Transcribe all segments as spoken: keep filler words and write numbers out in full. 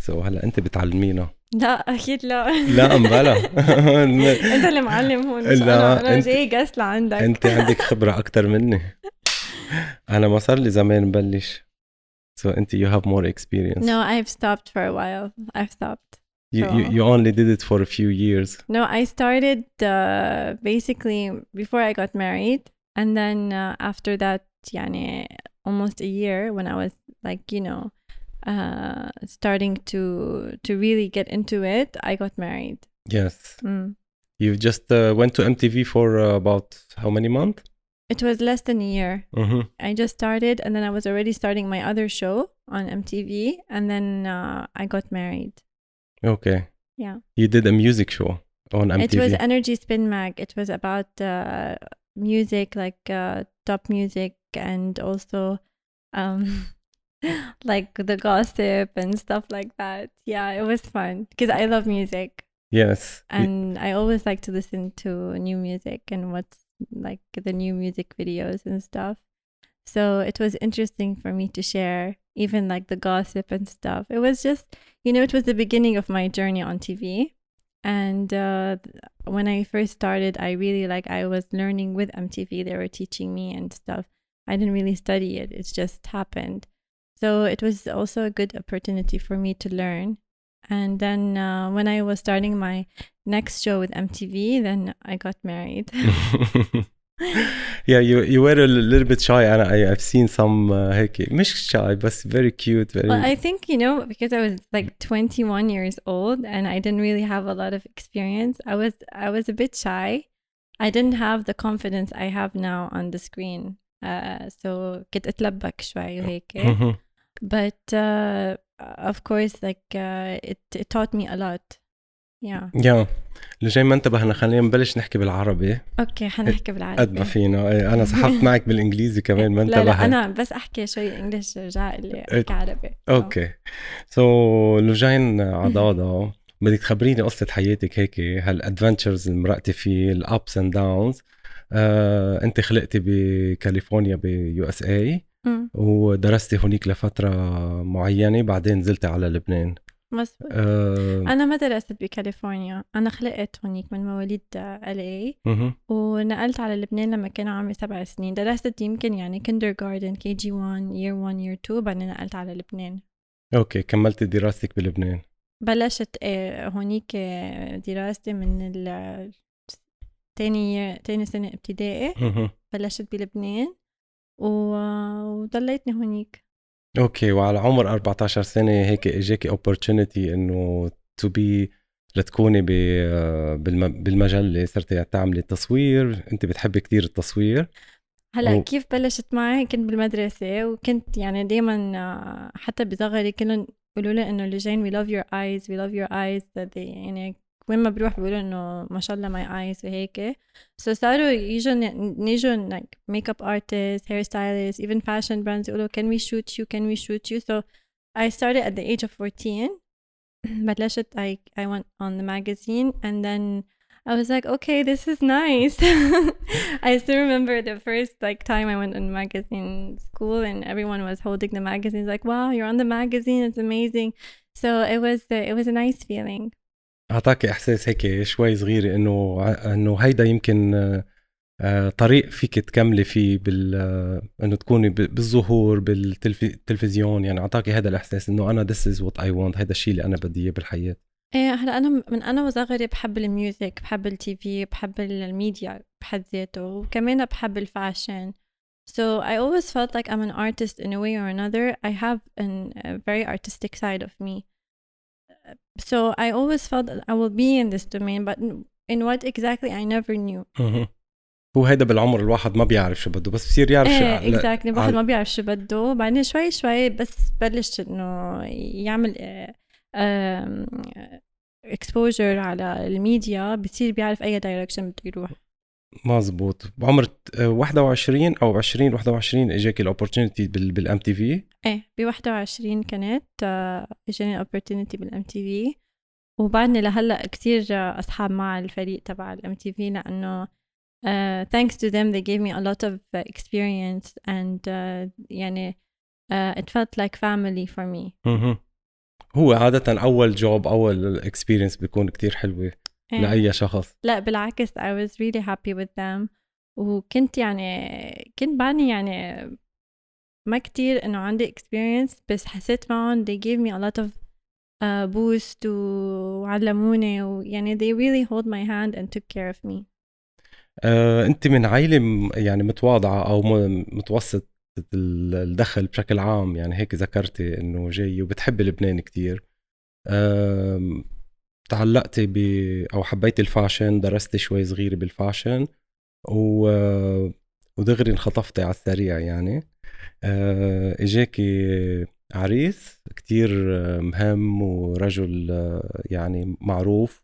سو هلا انت بتعلمينا. لا اكيد لا. لا امبلا. انت اللي معلم هون، مش لا، انا انا انت جاي جاس لعندك. انت عندك خبرة اكتر مني. انا ما صار لي زمان مبلش. So انت you have more experience. No, I've stopped for a while. I've stopped. You, So- you you only did it for a few years. No, I started uh, basically before I got married, and then uh, after that, يعني almost a year when I was like, you know, uh, starting to to really get into it, I got married. Yes. Mm. You just uh, went to M T V for uh, about how many months? It was less than a year. Mm-hmm. I just started, and then I was already starting my other show on M T V, and then uh, I got married. Okay. Yeah. You did a music show on M T V. It was Energy Spin Mag. It was about uh, music, like uh, top music, and also um, like the gossip and stuff like that. Yeah, it was fun because I love music. Yes. And I always like to listen to new music and what's like the new music videos and stuff. So it was interesting for me to share even like the gossip and stuff. It was just, you know, it was the beginning of my journey on T V. And uh, when I first started, I really like, I was learning with M T V. They were teaching me and stuff. I didn't really study it. It just happened. So it was also a good opportunity for me to learn. And then uh, when I was starting my next show with M T V, then I got married. Yeah, you you were a little bit shy. And I I've seen some uh, هيك مش shy, but very cute. Very. Well, I think, you know, because I was like twenty-one years old and I didn't really have a lot of experience. I was I was a bit shy. I didn't have the confidence I have now on the screen. Uh, so كنت أتلبك شوي وهيك. Mhm. But uh, of course, like uh, it it taught me a lot. Yeah. Yeah. اللي جاي ما انتبهنا، خلينا نبلش نحكي بالعربي. اوكي حنحكي بالعربي قد ما فينا. إيه، انا سحبت معك بالانجليزي كمان ما انتبهت. لا لا انا بس احكي شوي انجلش رجع اللي احكي عربي. اوكي. سو لجين عضاضة، بدك تخبريني قصة حياتك هيك، هالادفنتشرز اللي مرقتي فيه، الابس اند داونز. انت خلقتي بكاليفورنيا بيو اس اي ودرستي هونيك لفترة معينة، بعدين نزلتي على لبنان. مظبوط. أه أنا ما درست بكاليفورنيا، أنا خلقت هونيك من مواليد إل إيه ونقلت على لبنان لما كان عمري سبع سنين. درست يمكن يعني kindergarten كي جي واحد year one year two، بعدين نقلت على لبنان. أوكي، كملت دراستك بلبنان. بلشت هونيك دراستي من ال تاني تاني سنة ابتدائي. بلشت بلبنان وضليتني هونيك. اوكي. وعلى عمر أربعة عشر سنة هيك اجاكي opportunity انه to be لتكوني بالمجلة، صرتي تعملي تصوير، انت بتحبي كتير التصوير. هلا و... كيف بلشت معي؟ كنت بالمدرسة وكنت يعني دايما حتى بصغري كلهم يقولوا لي انه لجين we love your eyes we love your eyes they, يعني وين ما بروح بيقولوا انه ما شاء الله my eyes وهيك. so صاروا يجوا نيجوا like makeup artists, hairstylists, even fashion brands يقولوا can we shoot you can we shoot you. so I started at the age of fourteen. بلشت I, I went on the magazine and then I was like okay this is nice. I still remember the first like time I went on magazine school and everyone was holding the magazines like wow you're on the magazine it's amazing. so it was uh, it was a nice feeling. أعطاكي إحساس هيك شوي صغير إنه إنه هيدا يمكن طريق فيك تكملي فيه بال إنه تكوني بالظهور بالتلفزيون، يعني أعطاكي هذا الإحساس إنه أنا this is what I want، هذا الشيء اللي أنا بدي إياه بالحياة. إيه هلا أنا من أنا وصغري بحب الميوزك، بحب التي في، بحب الميديا بحد ذاته، وكمان بحب الفاشن. So I always felt like I'm an artist in a way or another. I have an, a very artistic side of me. So I always felt that I will be in this domain, but in what exactly I never knew. هو هيدا بالعمر الواحد ما بيعرف شو بده، بس بصير يعرف. ايه شو exactly الواحد ما بيعرف شو بده، بعدين شوي شوي بس بلش انه يعمل exposure على الميديا، بصير بيعرف اي direction بده يروح. مزبوط. بعمر واحد وعشرين او عشرين واحد وعشرين اجاكي الاوبورتونيتي بالام تي في؟ ايه ب واحد وعشرين كانت اجاني الاوبورتونيتي بالام تي في، وبعدني لهلا كثير اصحاب مع الفريق تبع الام تي في لانه uh, thanks to them they gave me a lot of uh, experience and uh, يعني uh, it felt like family for me. mm-hmm. هو عادة أول جوب أول اكسبيرينس بيكون كتير حلوة إيه. لأي شخص. لا بالعكس I was really happy with them. وكنت يعني كنت بعدني يعني ما كتير إنه عندي experience، بس حسيت معهم they gave me a lot of uh, boost وعلموني، ويعني they really hold my hand and took care of me. آه، أنت من عائلة م- يعني متواضعة أو م- متوسط الدخل بشكل عام، يعني هيك ذكرتي إنه جاي وبتحب لبنان كتير. آم، تعلقتي ب أو حبيتي الفاشن، درستي شوي صغيرة بالفاشن و... ودغري انخطفتي على السريع يعني. آه، اجاكي عريس كتير مهم ورجل آه، يعني معروف.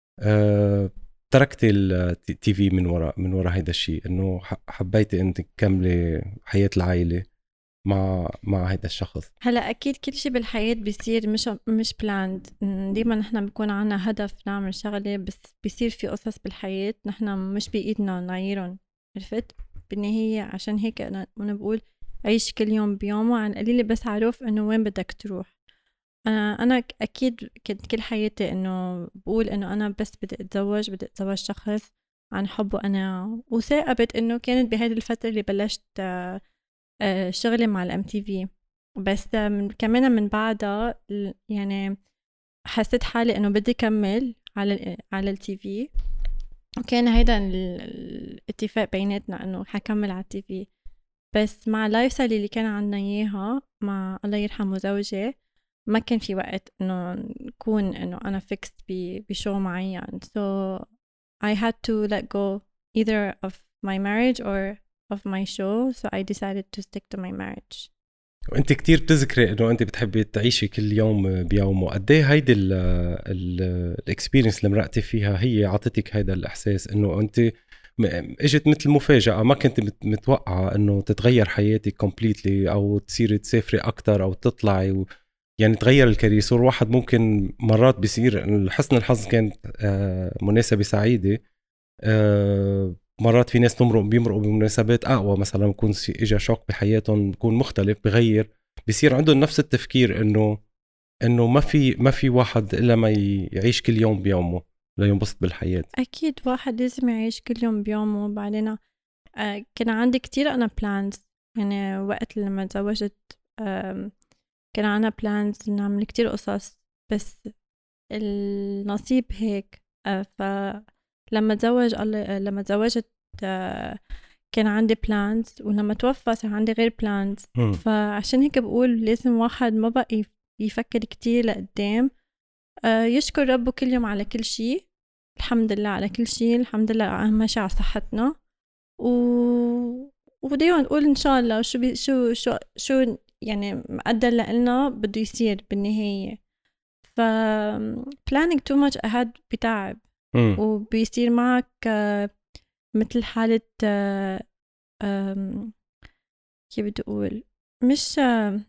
آه، تركتي التي في من وراء من وراء هيدا الشيء، انه ح- حبيتي انت تكملي حياة العائلة مع مع هيدا الشخص. هلا اكيد كل شيء بالحياه بيصير مش مش بلاند. ديما نحن بكون عنا هدف نعمل شغله، بس بيصير في قصص بالحياه نحن مش بايدنا نغيرهم، عرفت؟ بالنهايه عشان هيك انا انا بقول عيش كل يوم بيومه، عن قليل بس عارف انه وين بدك تروح. انا انا ك- اكيد كنت كل حياتي انه بقول انه انا بس بدي اتزوج بدي اتزوج شخص عن حبه انا، وثاقبت انه كانت بهذه الفتره اللي بلشت آه، آه، شغلي مع الام تي في. بس من كمان من بعدها ال- يعني حسيت حالي انه بدي كمل على ال على التي في، وكان هيدا ال- الاتفاق بيناتنا انه حكمل على التي في. بس مع اللايف ستايل اللي كان عنا اياها مع الله يرحمه زوجي، ما كان في وقت انه نكون انه انا فيكس بشو معين. so I had to let go either of my marriage or of my show, so I decided to stick to my marriage. وانت كتير بتذكري انه انت بتحبي تعيشي كل يوم بيومه. قد ايه هيدي الاكسبيرينس اللي مرقتي فيها هي عطتك هيدا الاحساس انه انت م- اجت مثل مفاجأة، ما كنت مت- متوقعة انه تتغير حياتك كومبليتلي او تصيري تسافري اكتر او تطلعي و... يعني تغير الكارير. يصير واحد ممكن مرات بيصير حسن الحظ كانت آه، مناسبة سعيدة. آه، مرات في ناس تمرق بيمرقوا بمناسبات اقوى، مثلا بكون سي- اجا شوك بحياتهم بكون مختلف بغير، بيصير عندهم نفس التفكير انه انه ما في ما في واحد الا ما ي- يعيش كل يوم بيومه لينبسط بالحياة. أكيد واحد لازم يعيش كل يوم بيومه. وبعدين آه كان عندي كتير أنا بلانز، يعني وقت لما تزوجت آه كان عنا بلانز نعمل كتير قصص، بس النصيب هيك. آه فلما تزوج الله لما تزوجت آه كان عندي بلانز، ولما توفى صار عندي غير بلانز. فعشان هيك بقول لازم واحد ما بقى يف- يفكر كتير لقدام، آه يشكر ربه كل يوم على كل شيء. الحمد لله على كل شيء، الحمد لله أهم شيء على صحتنا. و ودايما نقول إن شاء الله شو بي شو شو شو يعني مقدر لنا بده يصير بالنهاية. ف planning too much ahead بتعب، مم. وبيصير معك آه، مثل حالة آه، آم، كيف بدي أقول مش آه،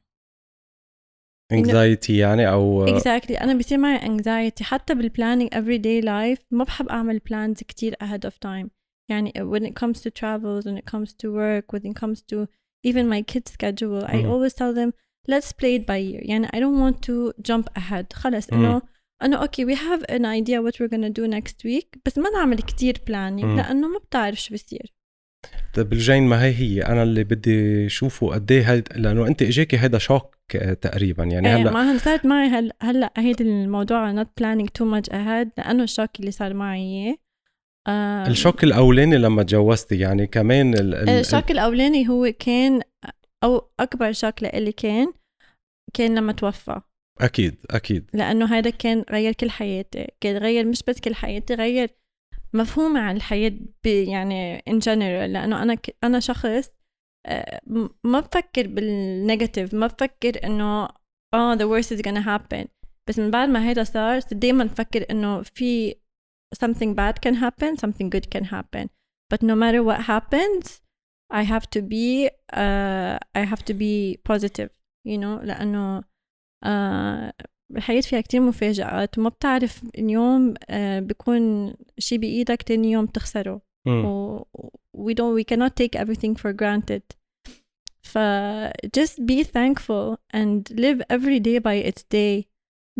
إنه anxiety يعني او exactly أنا بيصير معي anxiety حتى بالplanning everyday life. ما بحب أعمل plans كتير ahead of time. يعني when it comes to travels, when it comes to work, when it comes to even my kids schedule, I مم. always tell them let's play it by ear. يعني I don't want to jump ahead. خلص مم. إنه أنا okay we have an idea what we're gonna do next week، بس ما نعمل كتير planning مم. لأنه ما بتعرف شو بيصير. طيب الجين، ما هي هي انا اللي بدي اشوفه قد ايه هيد، لانه انت اجاكي هيدا شوك آه، تقريبا يعني ايه هلا. ما صارت معي هل هلا هيدا الموضوع not planning too much ahead لأنه الشوك اللي صار معي إياه. آم، الشوك الاولاني لما تجوزتي يعني كمان ال ال ال الشوك الأولاني هو كان أو أكبر شوك لإلي كان كان لما توفى. اكيد اكيد لأنه هذا كان غير كل حياتي، كان غير مش بس كل حياتي، غير مفهومي عن الحياة ب- يعني in general. لأنه أنا ك... أنا شخص آه، م- ما بفكر بالنيجاتيف، ما بفكر إنه آه the worst is gonna happen. بس من بعد ما هيدا صار دايما بفكر إنه في something bad can happen, something good can happen. But no matter what happens, I have to be uh, I have to be positive, you know. لأنه uh, الحياة فيها كتير مفاجآت، وما بتعرف اليوم uh, بيكون شي بإيدك تاني يوم تخسره. و we don't we cannot take everything for granted. ف just be thankful and live every day by its day.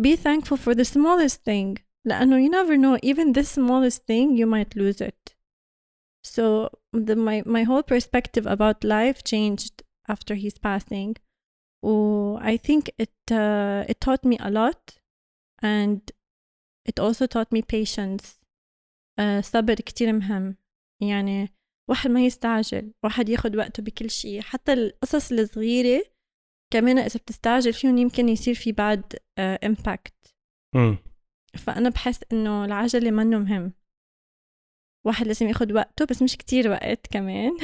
be thankful for the smallest thing. لأنه you never know, even this smallest thing you might lose it. So the, my, my whole perspective about life changed after his passing. Oh, I think it uh, it taught me a lot, and it also taught me patience. uh, صبر كتير مهم. يعني واحد ما يستعجل، واحد ياخد وقته بكل شيء، حتى القصص الصغيرة كمان إذا بتستعجل فيهم يمكن يصير في بعد uh, impact. م. فأنا بحس إنه العجلة منه مهم، واحد لازم ياخد وقته بس مش كتير وقت كمان.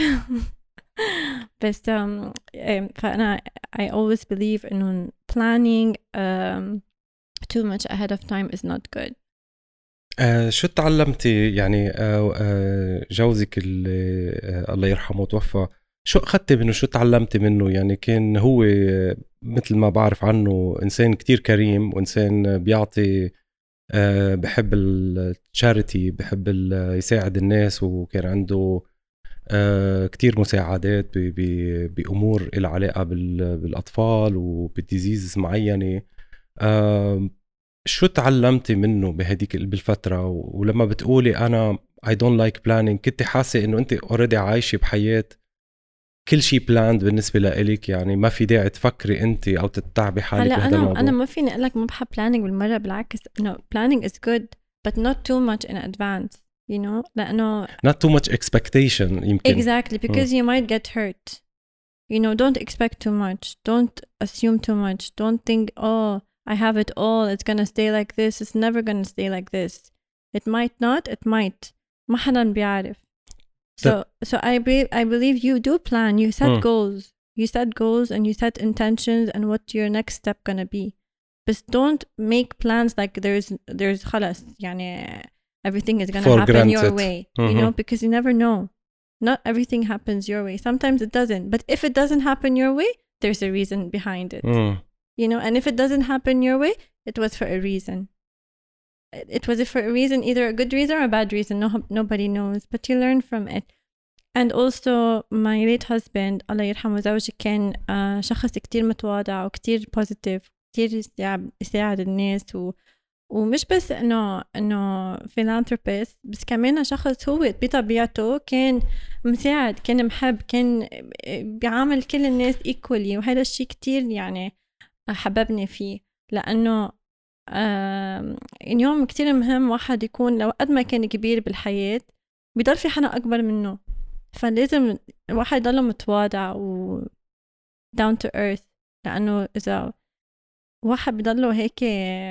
بس um, فأنا I always believe إنه planning um, too much ahead of time is not good. آه شو تعلمتي يعني آه آه جوزك اللي آه الله يرحمه توفى، شو أخذتي منه، شو تعلمتي منه؟ يعني كان هو مثل ما بعرف عنه إنسان كتير كريم، وإنسان بيعطي آه بحب التشاريتي، بحب يساعد الناس، وكان عنده آه كتير مساعدات بأمور إلى علاقة بالأطفال وبالديزيز معينة. آه شو تعلمتي منه بهديك بالفترة؟ ولما بتقولي أنا I don't like planning، كنت حاسة إنه أنت already عايشة بحياة كل شيء planned بالنسبة لإلك، يعني ما في داعي تفكري أنت أو تتعبي حالك بهذا الموضوع؟ أنا أنا ما فيني أقول لك ما بحب planning بالمرة، بالعكس إنه planning is good but not too much in advance, you know، لأنه not too much expectation يمكن. exactly because hmm. you might get hurt, you know. Don't expect too much, don't assume too much, don't think oh I have it all, it's gonna stay like this. It's never gonna stay like this. It might not, it might. ما حدا بيعرف. So, so I be, I believe you do plan. You set mm. goals. You set goals and you set intentions and what your next step gonna be. But don't make plans like there's there's خلاص يعني everything is gonna For happen granted. your way. Mm-hmm. You know, because you never know. Not everything happens your way. Sometimes it doesn't. But if it doesn't happen your way, there's a reason behind it. Mm. You know, and if it doesn't happen your way, it was for a reason. It was for a reason, either a good reason or a bad reason. No, nobody knows, but you learn from it. And also, my late husband, الله يرحمه زوجي، كان uh, شخص كتير متواضع وكتير positive، كتير يساعد الناس، و ومش بس إنه إنه philanthropist، بس كمان شخص هو بطبيعته كان مساعد، كان محب، كان بيعامل كل الناس equally، وهذا الشيء كتير يعني حببني فيه. لأنه آه اليوم كتير مهم واحد يكون لو قد ما كان كبير بالحياة بيضل في حدا أكبر منه، فلازم الواحد يضل متواضع و down to earth. لأنه إذا واحد بيضله هيك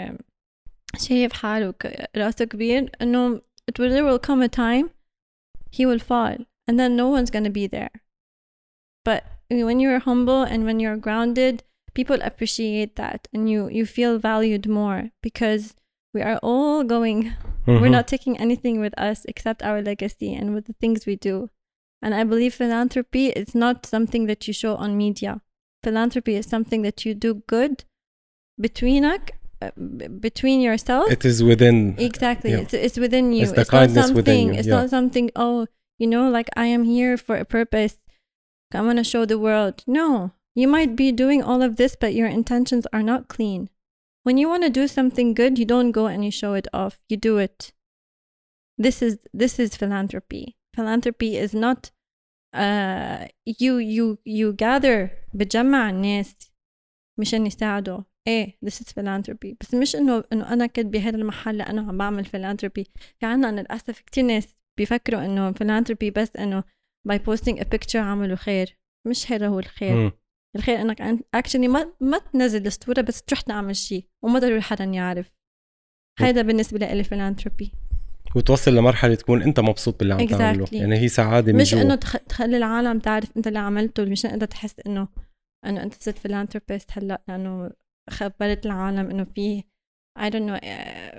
شايف حاله راسه كبير، إنه it will, there will come a time he will fall and then no one's gonna be there. But when you're humble and when you're grounded, people appreciate that, and you you feel valued more because we are all going mm-hmm. we're not taking anything with us except our legacy and with the things we do. And I believe philanthropy is not something that you show on media. Philanthropy is something that you do good between uh, between yourself. It is within. Exactly. Yeah. It's, it's within you. It's the it's kindness not something, within you. It's yeah. not something, oh, you know, like I am here for a purpose. I want to show the world. No. You might be doing all of this, but your intentions are not clean. When you want to do something good, you don't go and you show it off. You do it. This is this is philanthropy. Philanthropy is not uh, you you you gather بتجمع الناس مشان يساعدوا. إيه this is philanthropy. بس مش إنه إنه أنا كنت بهذا المحل لأنه عم بعمل philanthropy. في عنا للأسف كتير ناس بيفكروا إنه philanthropy بس إنه by posting a picture عملوا خير. مش هذا هو الخير. م. الخير انك اكشلي ما ما تنزل الصوره بس تروح تعمل شيء وما ضروري حدا يعرف. هذا بالنسبه لي فيلانثروبي، وتوصل لمرحله تكون انت مبسوط باللي عم تعمله. exactly. يعني هي سعاده مش انه تخلي العالم تعرف انت اللي عملته، مش انت تحس انه انه انت صرت فيلانثروبيست هلا لانه خبرت العالم انه في I don't know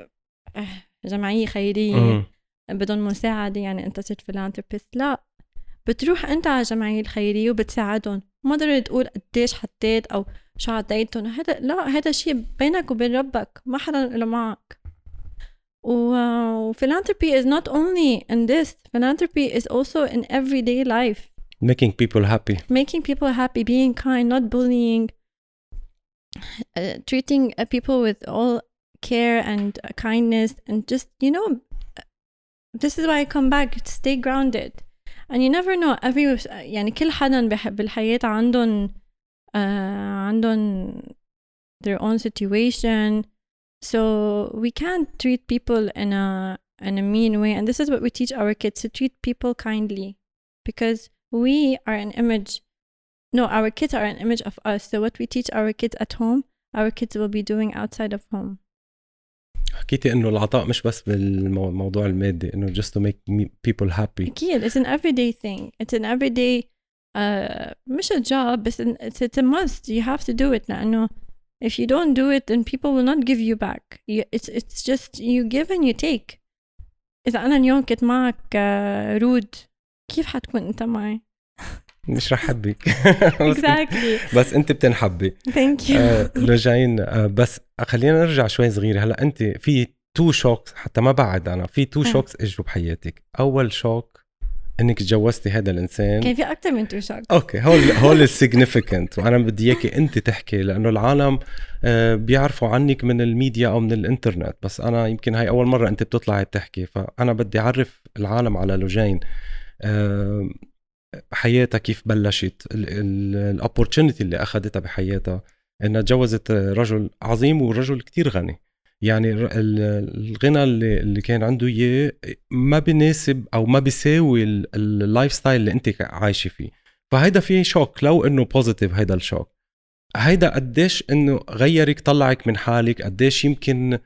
جمعيه خيريه بدون مساعده يعني انت صرت فيلانثروبيست. لا، بتروح انت على الجمعيه الخيريه وبتساعدهم، ما ضروري تقول قديش حطيت او شو عطيتهم. هذا لا، هذا شيء بينك وبين ربك، ما حدا له معك. و philanthropy is not only in this. Philanthropy is also in everyday life. Making people happy. Making people happy, being kind, not bullying, uh, treating uh, people with all care and kindness and just, you know, this is why I come back to stay grounded. And you never know, every يعني كل حدا بالحياة عندهم uh, عندهم their own situation, so we can't treat people in a in a mean way. And this is what we teach our kids, to treat people kindly, because we are an image. No, our kids are an image of us. So what we teach our kids at home, our kids will be doing outside of home. حكيتي إنه العطاء مش بس بالموضوع المادي، إنه just to make people happy. أكيد, it's an everyday thing. It's an everyday, uh, مش a job, but it's, it's a must. You have to do it. لأنه if you don't do it, then people will not give you back. You, it's it's just you give and you take. إذا أنا اليوم كنت معك uh, رود, كيف حتكون أنت معي؟ مش رح حبك. exactly. بس أنت بتنحبي. thank you. آه لوجين، آه بس خلينا نرجع شوي صغيرة. هلا أنت في تو شوكس، حتى ما بعد أنا في تو شوكس اجوا بحياتك. أول شوك إنك تجوزتي هذا الإنسان. كان في أكتر من تو شوكس. أوكي، هول هول السيجنيفيكانت، وأنا بدي إياكي أنت تحكي، لأنه العالم آه بيعرفوا عنك من الميديا أو من الإنترنت، بس أنا يمكن هاي أول مرة أنت بتطلعي تحكي، فأنا بدي أعرف العالم على لوجين. آه حياتها كيف بلشت، الأوبورتونيتي اللي أخذتها بحياتها إنها تجوزت رجل عظيم ورجل كتير غني. يعني الغنى اللي, اللي كان عنده إياه ما بيناسب أو ما بيساوي اللايف ستايل اللي أنت عايشة فيه. فهيدا فيه شوك، لو إنه بوزيتيف هيدا الشوك. هيدا قديش إنه غيرك، طلعك من حالك، قديش يمكن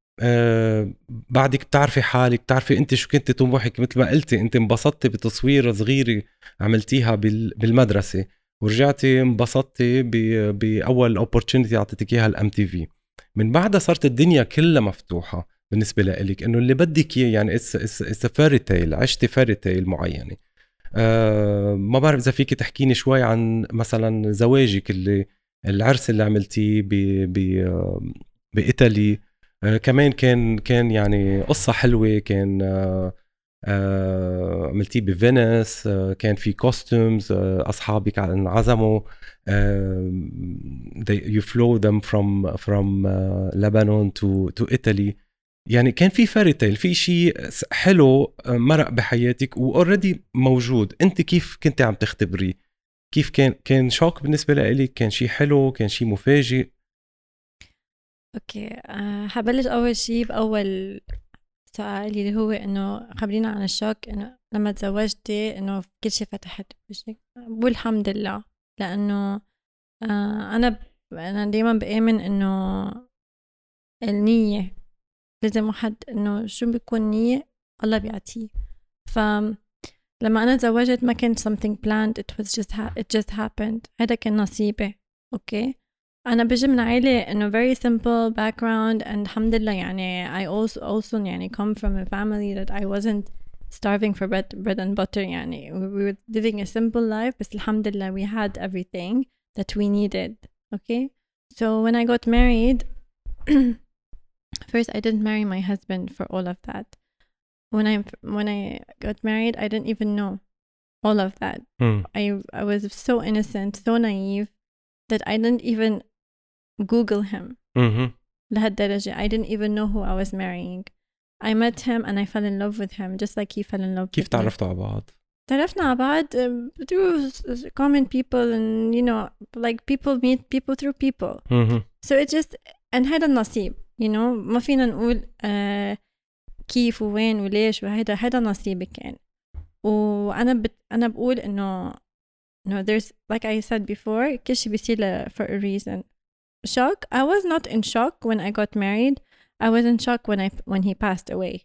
آه بعدك بتعرفي حالك، بتعرفي انت شو كنت طموحك. مثل ما قلتي انت انبسطتي بتصوير صغيرة عملتيها بالمدرسة، ورجعتي انبسطتي بأول opportunity عطيتك اياها الام تي في. من بعدها صارت الدنيا كلها مفتوحة بالنسبة لك، انه اللي بدك اياه يعني it's, it's, it's a fairy tale، عشتي fairy tale معينة. آه ما بعرف اذا فيك تحكيني شوي عن مثلا زواجك، اللي العرس اللي عملتيه بإيطالي. آه كمان كان كان يعني قصة حلوة، كان آه آه عملتيه بفينيس، آه كان في كوستومز، آه أصحابك انعزموا، آه you flew them from from uh, Lebanon to to Italy. يعني كان في فاريتيل، في شيء حلو مرق بحياتك وأوريدي موجود. أنت كيف كنت عم تختبري؟ كيف كان كان شوك بالنسبة لك؟ كان شيء حلو؟ كان شيء مفاجئ؟ اوكي أه حبلش اول شيء باول سؤال اللي هو انه خبرينا عن الشوك. انه لما تزوجتي انه كل شيء فتحت بوجهك، والحمد لله. لانه أه انا انا دائما بآمن انه النية لازم واحد، انه شو بيكون نية الله بيعطيه. فلما انا تزوجت ما كان something planned, it was just ha- it just happened. هذا كان نصيبي. اوكي أنا بجي من عائلة إنه very simple background and الحمد لله. يعني I also also يعني come from a family that I wasn't starving for bread bread and butter. يعني we were living a simple life, بس الحمد لله we had everything that we needed. Okay, so when I got married, first I didn't marry my husband for all of that. When I when I got married, I didn't even know all of that. Hmm. I I was so innocent, so naive that I didn't even Google him. Mm-hmm. لهالدرجة I didn't even know who I was marrying. I met him and I fell in love with him just like he fell in love كيف with me. تعرفتوا على بعض؟ تعرفنا على بعض through common people, and you know like people meet people through people. Mm-hmm. So it just and هذا النصيب. You know ما فينا نقول uh, كيف وين وليش، وهذا هذا نصيبي كان. وأنا بت أنا بقول إنه no there's like I said before كل شيء بيصير for a reason. Shock, I was not in shock when I got married. I was in shock when I when he passed away.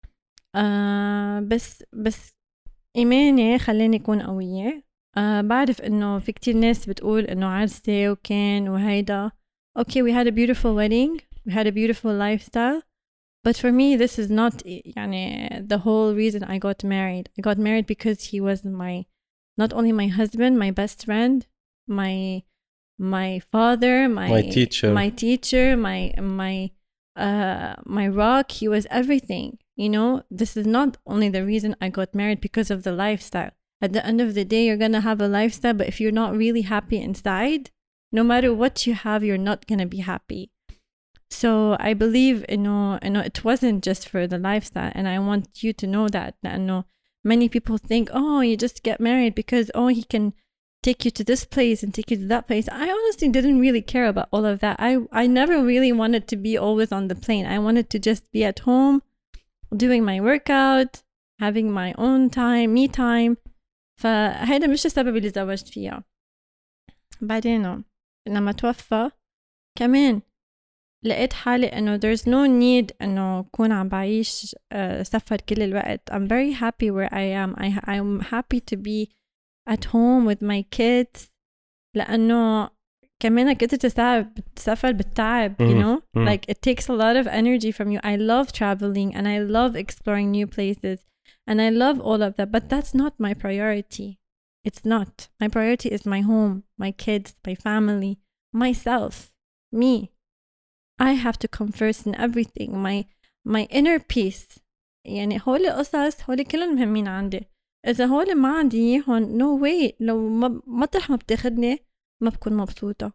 uh, بس بس إيماني خلاني أكون قوية. uh, بعرف إنه في كتير ناس بتقول إنه عرسي وكان وهيدا. Okay, we had a beautiful wedding, we had a beautiful lifestyle, but for me this is not يعني the whole reason I got married. I got married because he was my not only my husband, my best friend, my my father, my my teacher, my teacher, my my uh my rock. He was everything. You know, this is not only the reason I got married because of the lifestyle. At the end of the day, you're gonna have a lifestyle, but if you're not really happy inside, no matter what you have, you're not gonna be happy. So I believe you know, you know it wasn't just for the lifestyle, and I want you to know that. لأنه many people think, oh, you just get married because oh he can take you to this place and take you to that place. I honestly didn't really care about all of that. I I never really wanted to be always on the plane. I wanted to just be at home, doing my workout, having my own time, me time. فهيدا مش السبب اللي تزوجت فيها. بعدين لما توفى كمان لقيت حالي انه there's no need انه كون عم بعيش سفر كل الوقت. I'm very happy where I am. I I'm happy to be at home with my kids. لأنه كمان كنت تسافر تسافر بالتعب, you know, mm-hmm. like it takes a lot of energy from you. I love traveling and I love exploring new places and I love all of that, but that's not my priority. It's not. My priority is my home, my kids, my family, myself, me. I have to come first in everything. My my inner peace. يعني هول قصص هول كلهم مهمين عندي. إذا هول ما عندي إياهم no way. لو ما مطرح ما بتاخدني ما بكون مبسوطة.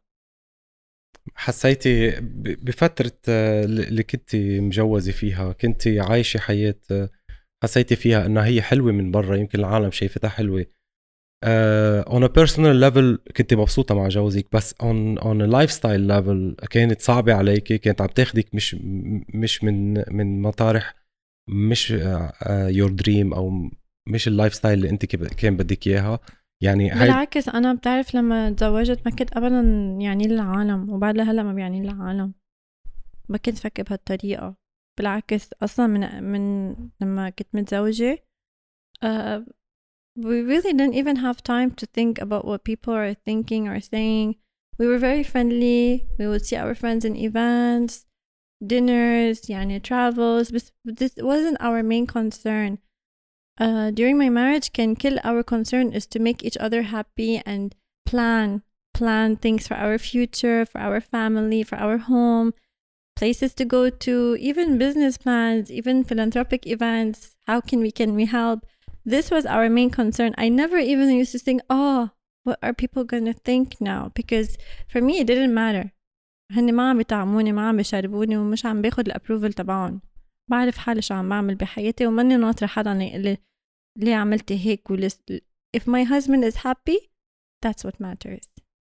حسيتي بفترة اللي كنتي مجوزة فيها كنتي عايشة حياة حسيتي فيها إنها هي حلوة من برا, يمكن العالم شايفتها حلوة. Uh, on a personal level كنت مبسوطة مع جوزك, بس on on a lifestyle level كانت صعبة عليكي, كانت عم تاخدك مش مش من من مطارح مش uh, uh, your dream أو مش اللايف ستايل اللي أنت كان بدك إياها. يعني بالعكس أنا بتعرف لما تزوجت ما كنت أبدا يعني للعالم, وبعد لهلا ما بيعني للعالم, ما كنت فكر بهالطريقة. بالعكس أصلا من من لما كنت متزوجة uh, we really didn't even have time to think about what people are thinking or saying. We were very friendly. We would see our friends in events, dinners, يعني travels, but this wasn't our main concern. Uh, during my marriage, can kill our concern is to make each other happy and plan, plan things for our future, for our family, for our home, places to go to, even business plans, even philanthropic events. How can we, can we help? This was our main concern. I never even used to think, oh, what are people going to think now? Because for me, it didn't matter. هني ما عم بيطعموني, ما عم بيشربوني, ومش عم باخد الابروفل تبعهم. بعرف حالي شو عم بعمل بحياتي, وماني ناطرة حدا يقلي ليه عملتي هيك ولس. If my husband is happy, that's what matters.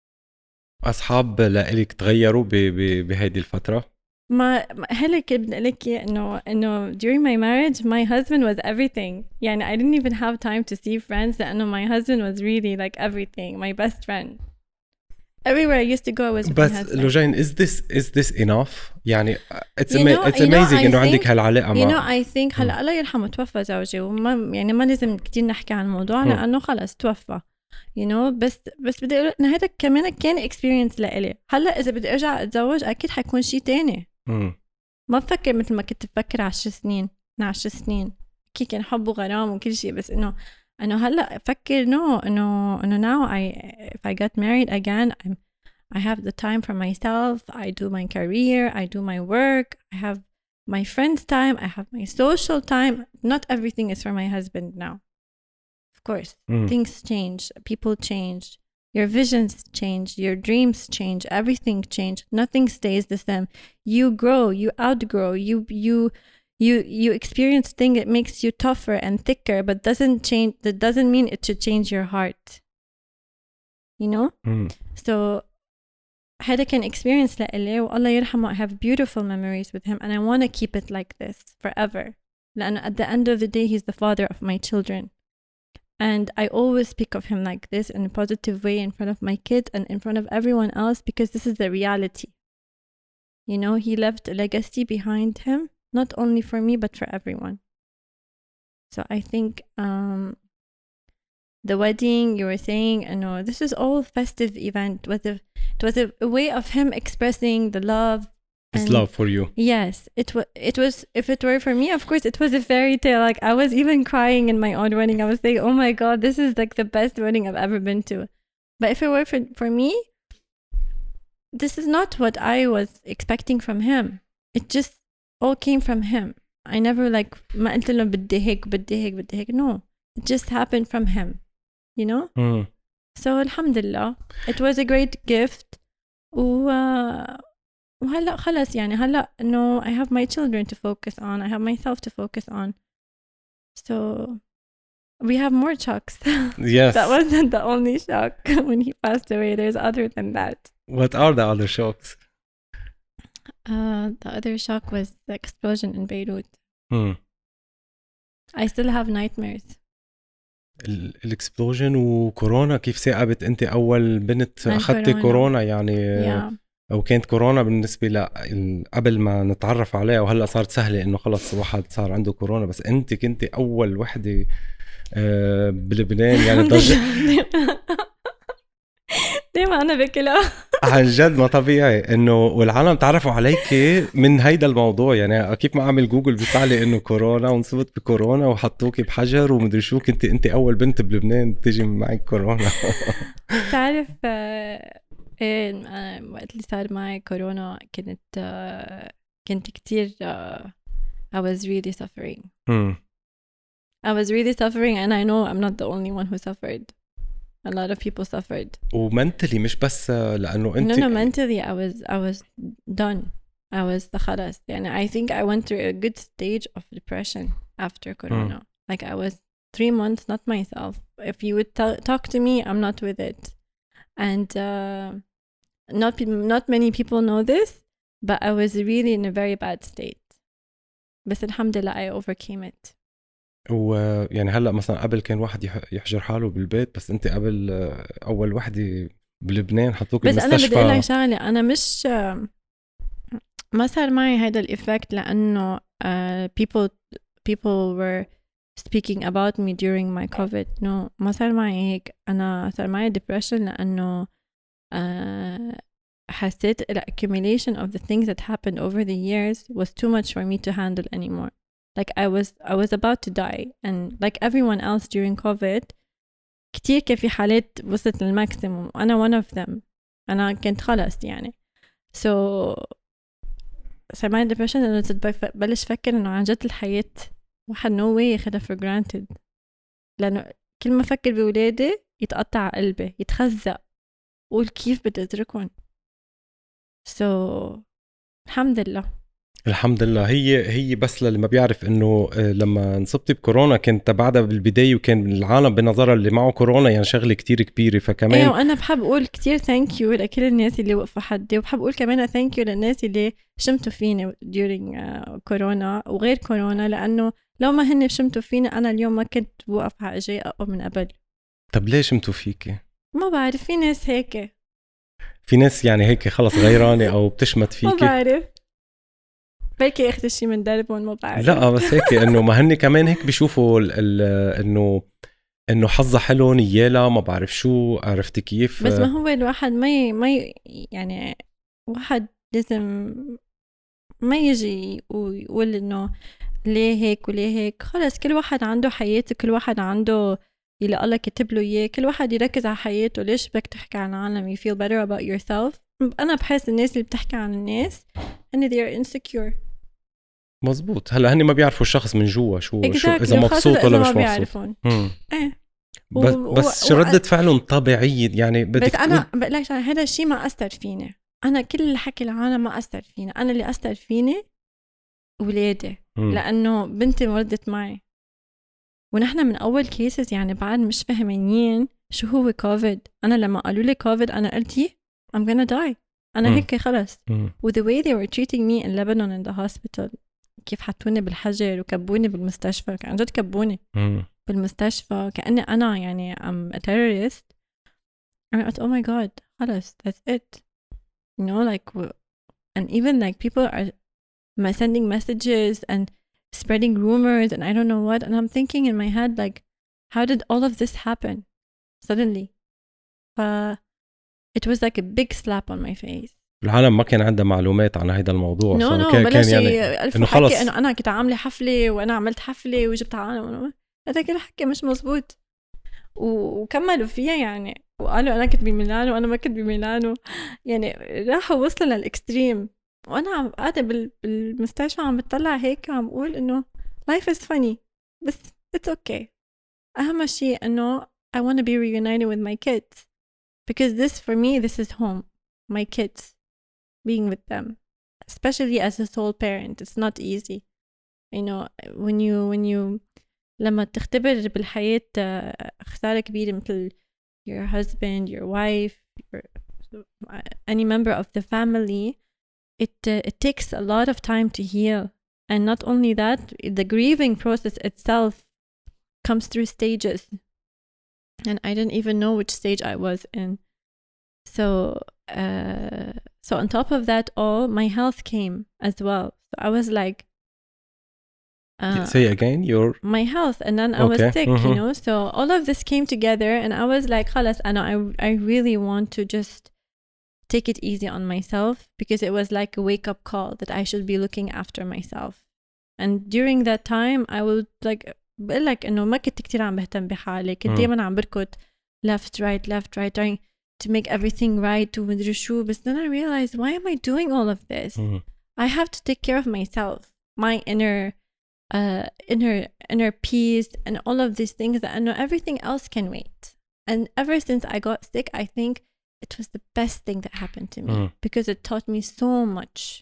أصحاب لإلك تغيروا بهيدي الفترة؟ ما هلا كنت بدي أقولك إنه إنه during my marriage my husband was everything. يعني I didn't even have time to see friends لأنه my husband was really like everything, my best friend. Everywhere I used to go I was with بس my husband. لوجين is this is this enough؟ يعني it's, you know, it's amazing إنه عندك هالعلاقة مع. You know I think م. هلا الله يرحمه توفى زوجي, وما يعني ما لازم كتير نحكي عن الموضوع م. لأنه خلص توفى. you know بس بس بدي أقول إن هذا كمان كان experience لإلي. هلا إذا بدي أرجع أتزوج أكيد حيكون شيء تاني. م. ما بفكر مثل ما كنت بفكر عشر سنين من عشر سنين كي كان حب وغرام وكل شيء, بس إنه إنه هلا أفكر no إنه إنه now I if I get married again I'm I have the time for myself. I do my career. I do my work. I have my friends' time. I have my social time. Not everything is for my husband now. Of course, mm. things change. People change. Your visions change. Your dreams change. Everything change. Nothing stays the same. You grow. You outgrow. You you you you experience things that makes you tougher and thicker, but doesn't change. That doesn't mean it should change your heart. You know. Mm. So. هذا كان experience لإلي, والله يرحمه. I have beautiful memories with him and I want to keep it like this forever. لأنه at the end of the day he's the father of my children and I always speak of him like this in a positive way in front of my kids and in front of everyone else, because this is the reality. You know, he left a legacy behind him, not only for me but for everyone. So I think um the wedding you were saying, you know, this is all festive event. With a, it was a, a way of him expressing the love. His and love for you. Yes, it was. It was. If it were for me, of course, it was a fairy tale. Like I was even crying in my own wedding. I was saying, "Oh my God, this is like the best wedding I've ever been to." But if it were for for me, this is not what I was expecting from him. It just all came from him. I never like ما قلت له بدي هيك بدي هيك بدي هيك. No, it just happened from him. You know? Mm. So alhamdulillah, it was a great gift. و وهلأ خلص يعني هلأ إنه I have my children to focus on, I have myself to focus on. So we have more shocks. Yes. That wasn't the only shock when he passed away. There's other than that. What are the other shocks? Uh, the other shock was the explosion in Beirut. Hmm. I still have nightmares. الاكسبلوجن وكورونا كيف ثاقبت انت اول بنت اخذتي كورونا. كورونا يعني yeah. او كانت كورونا بالنسبه ل قبل ما نتعرف عليها وهلا صارت سهله انه خلص واحد صار عنده كورونا بس انت كنتي اول وحده بلبنان يعني ضج دايما انا بكلها عن جد ما طبيعي انه والعالم تعرفوا عليك من هيدا الموضوع يعني كيف ما اعمل جوجل بيطلع لي انه كورونا ونصبت بكورونا وحطوكي بحجر ومدري شو كنت انت اول بنت بلبنان بتيجي معك كورونا. تعرف ايه وقت اللي صار معي كورونا كنت كنت كتير I was really suffering. hmm. I was really suffering and I know I'm not the only one who suffered. A lot of people suffered. ومنتلي مش بس لأنه أنت. No, no, mentally I was I was done. I was the خلاص. يعني I think I went through a good stage of depression after Corona. Mm. Like I was three months not myself. If you would t- talk to me, I'm not with it. And uh, not not many people know this, but I was really in a very bad state. بس الحمد لله I overcame it. ويعني هلا مثلا قبل كان واحد يحجر حاله بالبيت بس انت قبل اول وحده بلبنان حطوك بالمستشفى. بس انا بدي اقول لك شغله انا مش ما صار معي هذا الايفكت لانه uh, people people were speaking about me during my COVID. no ما صار معي هيك. انا صار معي depression لانه uh, حسيت the accumulation of the things that happened over the years was too much for me to handle anymore. Like I was I was about to die and like everyone else during COVID كتير كان في حالات وصلت للماكسيموم وأنا one of them. أنا كنت خلص يعني so صار معي depression إنه بلش فكر إنه عن جد الحياة واحد no way ياخدها for granted لأنه كل ما فكر بولادي يتقطع قلبي يتخزق قول كيف بدي أتركهم so الحمد لله الحمد لله. هي هي بس للي ما بيعرف انه لما انصبتي بكورونا كنت بعدها بالبدايه وكان العالم بنظرها اللي معه كورونا يعني شغله كتير كبيره فكمان ايوه وانا بحب اقول كتير ثانك يو لكل الناس اللي وقفوا حدي وبحب اقول كمان ثانك يو للناس اللي شمتوا فيني during كورونا وغير كورونا لانه لو ما هن شمتوا فيني انا اليوم ما كنت بوقف على اجي اقوى من قبل. طب ليش شمتوا فيكي؟ ما بعرف في ناس هيك في ناس يعني هيك خلص غيرانه او بتشمت فيكي. ما بعرف بلكي اخذ شيء من دربهم ما بعرف. لا بس هيك انه ما هن كمان هيك بيشوفوا انه انه حظها حلو نيالا ما بعرف شو عرفتي كيف. بس ما هو الواحد ما ي... ما ي... يعني واحد لازم ما يجي ويقول انه ليه هيك وليه هيك. خلص كل واحد عنده حياته كل واحد عنده اللي الله كتب له اياه كل واحد يركز على حياته. ليش بدك تحكي عن العالم؟ you feel better about yourself. انا بحس الناس اللي بتحكي عن الناس ان they are insecure. مزبوط. هلا هني ما بيعرفوا الشخص من جوا شو exactly. شو اذا مبسوط ولا مش مبسوط. ايه بس و... بس و... ردة فعلهم طبيعية يعني بدك بس انا تقول... بقول لك هذا الشيء ما اثر فيني. انا كل اللي حكي العالم ما اثر فيني. انا اللي اثر فيني ولادي م. لانه بنتي ولدت معي ونحن من اول كيسز يعني بعد مش فاهمين شو هو كوفيد. انا لما قالوا لي كوفيد انا قلت I'm gonna die. انا م. هيك خلص. و the way they were treating me in Lebanon in the hospital كيف حطوني بالحجر وكبوني بالمستشفى عن جد كبوني م. بالمستشفى كأني أنا يعني I'm a terrorist. I thought oh my god خلاص that's it you know like and even like people are sending messages and spreading rumors and I don't know what and I'm thinking in my head like how did all of this happen suddenly. uh, it was like a big slap on my face. العالم ما كان عنده معلومات عن هذا الموضوع. نو نو بلش يعني ألف حكي إنه أنا كنت عاملة حفلة وأنا عملت حفلة وجبت عالم. هذا كل حكي مش مزبوط وكملوا فيها يعني وقالوا أنا كنت بميلانو وأنا ما كنت بميلانو يعني راحوا وصلوا للإكستريم. وأنا قاعدة بالمستشفى عم بتطلع هيك وعم بقول إنه life is funny بس it's okay. أهم شيء إنه I want to be reunited with my kids because this for me this is home. My kids being with them especially as a sole parent it's not easy you know when you when you لما تختبر بالحياة خسارة كبيرة مثل your husband your wife your, any member of the family it uh, it takes a lot of time to heal and not only that the grieving process itself comes through stages and I didn't even know which stage I was in so uh, so on top of that all my health came as well so I was like uh, say again your my health and then I okay. was sick mm-hmm. you know so all of this came together and I was like خلاص أنا I, I really want to just take it easy on myself because it was like a wake-up call that I should be looking after myself and during that time I would like بقول لك إنه ما كنت كتير عم بهتم بحالي كنت دايما عم بركض left right left right trying to make everything right ومدري شو but then I realized why am I doing all of this mm-hmm. I have to take care of myself my inner uh inner inner peace and all of these things that I know everything else can wait and ever since I got sick I think it was the best thing that happened to me mm. because it taught me so much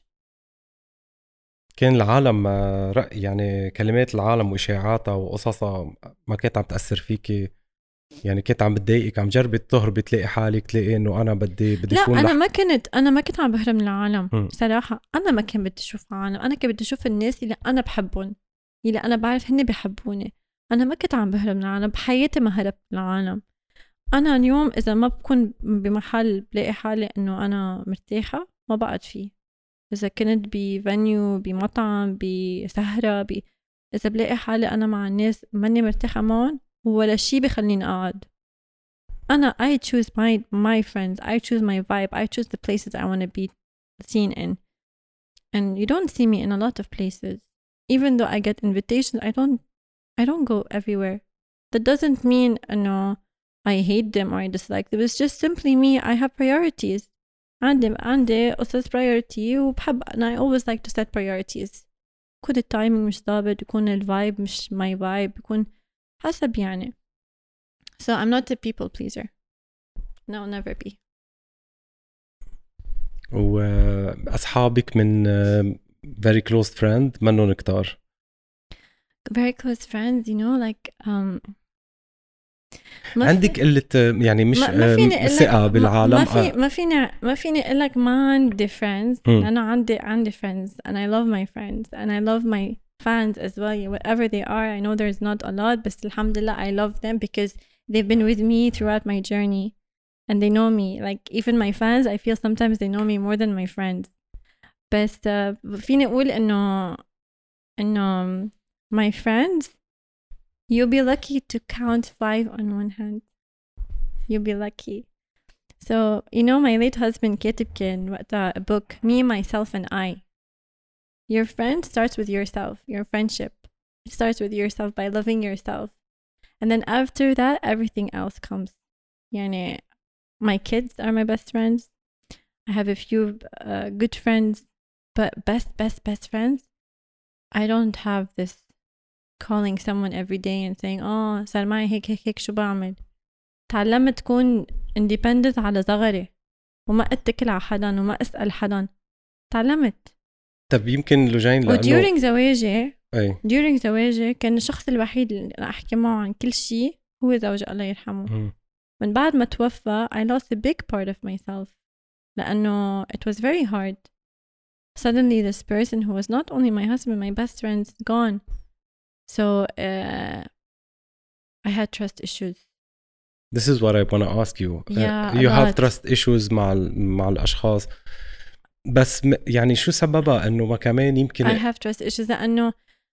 كان العالم رأي يعني كلمات العالم وإشاعاتها وقصصها ما كانت عم تأثر فيكي يعني كنت عم بتضايقك عم جربي تهربي تلاقي حالك تلاقي إنه أنا بدي بدي لا أكون أنا لح... ما كنت أنا ما كنت عم بهرب من العالم م. صراحة أنا ما كنت بدي أشوف عالم أنا كنت بدي أشوف الناس اللي أنا بحبهم اللي أنا بعرف هني بيحبوني أنا ما كنت عم بهرب من العالم بحياتي ما هربت من العالم أنا اليوم إذا ما بكون بمحل بلاقي حالي إنه أنا مرتاحة ما بقعد فيه إذا كنت بفانيو بمطعم بسهرة ب... إذا بلاقي حالي أنا مع الناس ماني مرتاحة معهم ولا شي بخليني أقعد أنا I choose my my friends I choose my vibe I choose the places I want to be seen in and you don't see me in a lot of places even though I get invitations I don't I don't go everywhere that doesn't mean no I hate them or I dislike them it's just simply me I have priorities عندي عندي قصص priority وبحب and I always like to set priorities يكون التايمينج مش ضابط يكون الفايب مش my vibe يكون حسب يعني so I'm not a people pleaser no never be وأصحابك من very close friend منهم كتار very close friends you know like um عندك قلة يعني مش ثقة بالعالم ما في ما فيني ما فيني أقول لك ما عندي friends أنا عندي عندي friends and I love my friends and I love my fans as well whatever they are I know there's not a lot بس الحمد لله I love them because they've been with me throughout my journey and they know me like even my fans I feel sometimes they know me more than my friends بس uh, فيني أقول إنه إنه my friends you'll be lucky to count five on one hand you'll be lucky so you know my late husband كاتب كان وقتها a book me myself and I your friend starts with yourself your friendship it starts with yourself by loving yourself and then after that everything else comes يعني my kids are my best friends I have a few uh, good friends but best best best friends I don't have this calling someone every day and saying oh صار معي هيك هيك هيك شو بعمل تعلمت تكون independent على صغري وما اتكل على حدا وما اسأل حدا تعلمت طب يمكن لوجين لأنه during زواجي أي. during زواجي كان الشخص الوحيد اللي أنا أحكي معه عن كل شيء هو زوجي الله يرحمه م. من بعد ما توفى I lost a big part of myself لأنه it was very hard suddenly this person who was not only my husband my best friend is gone so uh, I had trust issues this is what I want to ask you yeah, uh, you have trust issues مع مع الأشخاص بس يعني شو سببها إنه ما كمان يمكن I have trust issues لأنه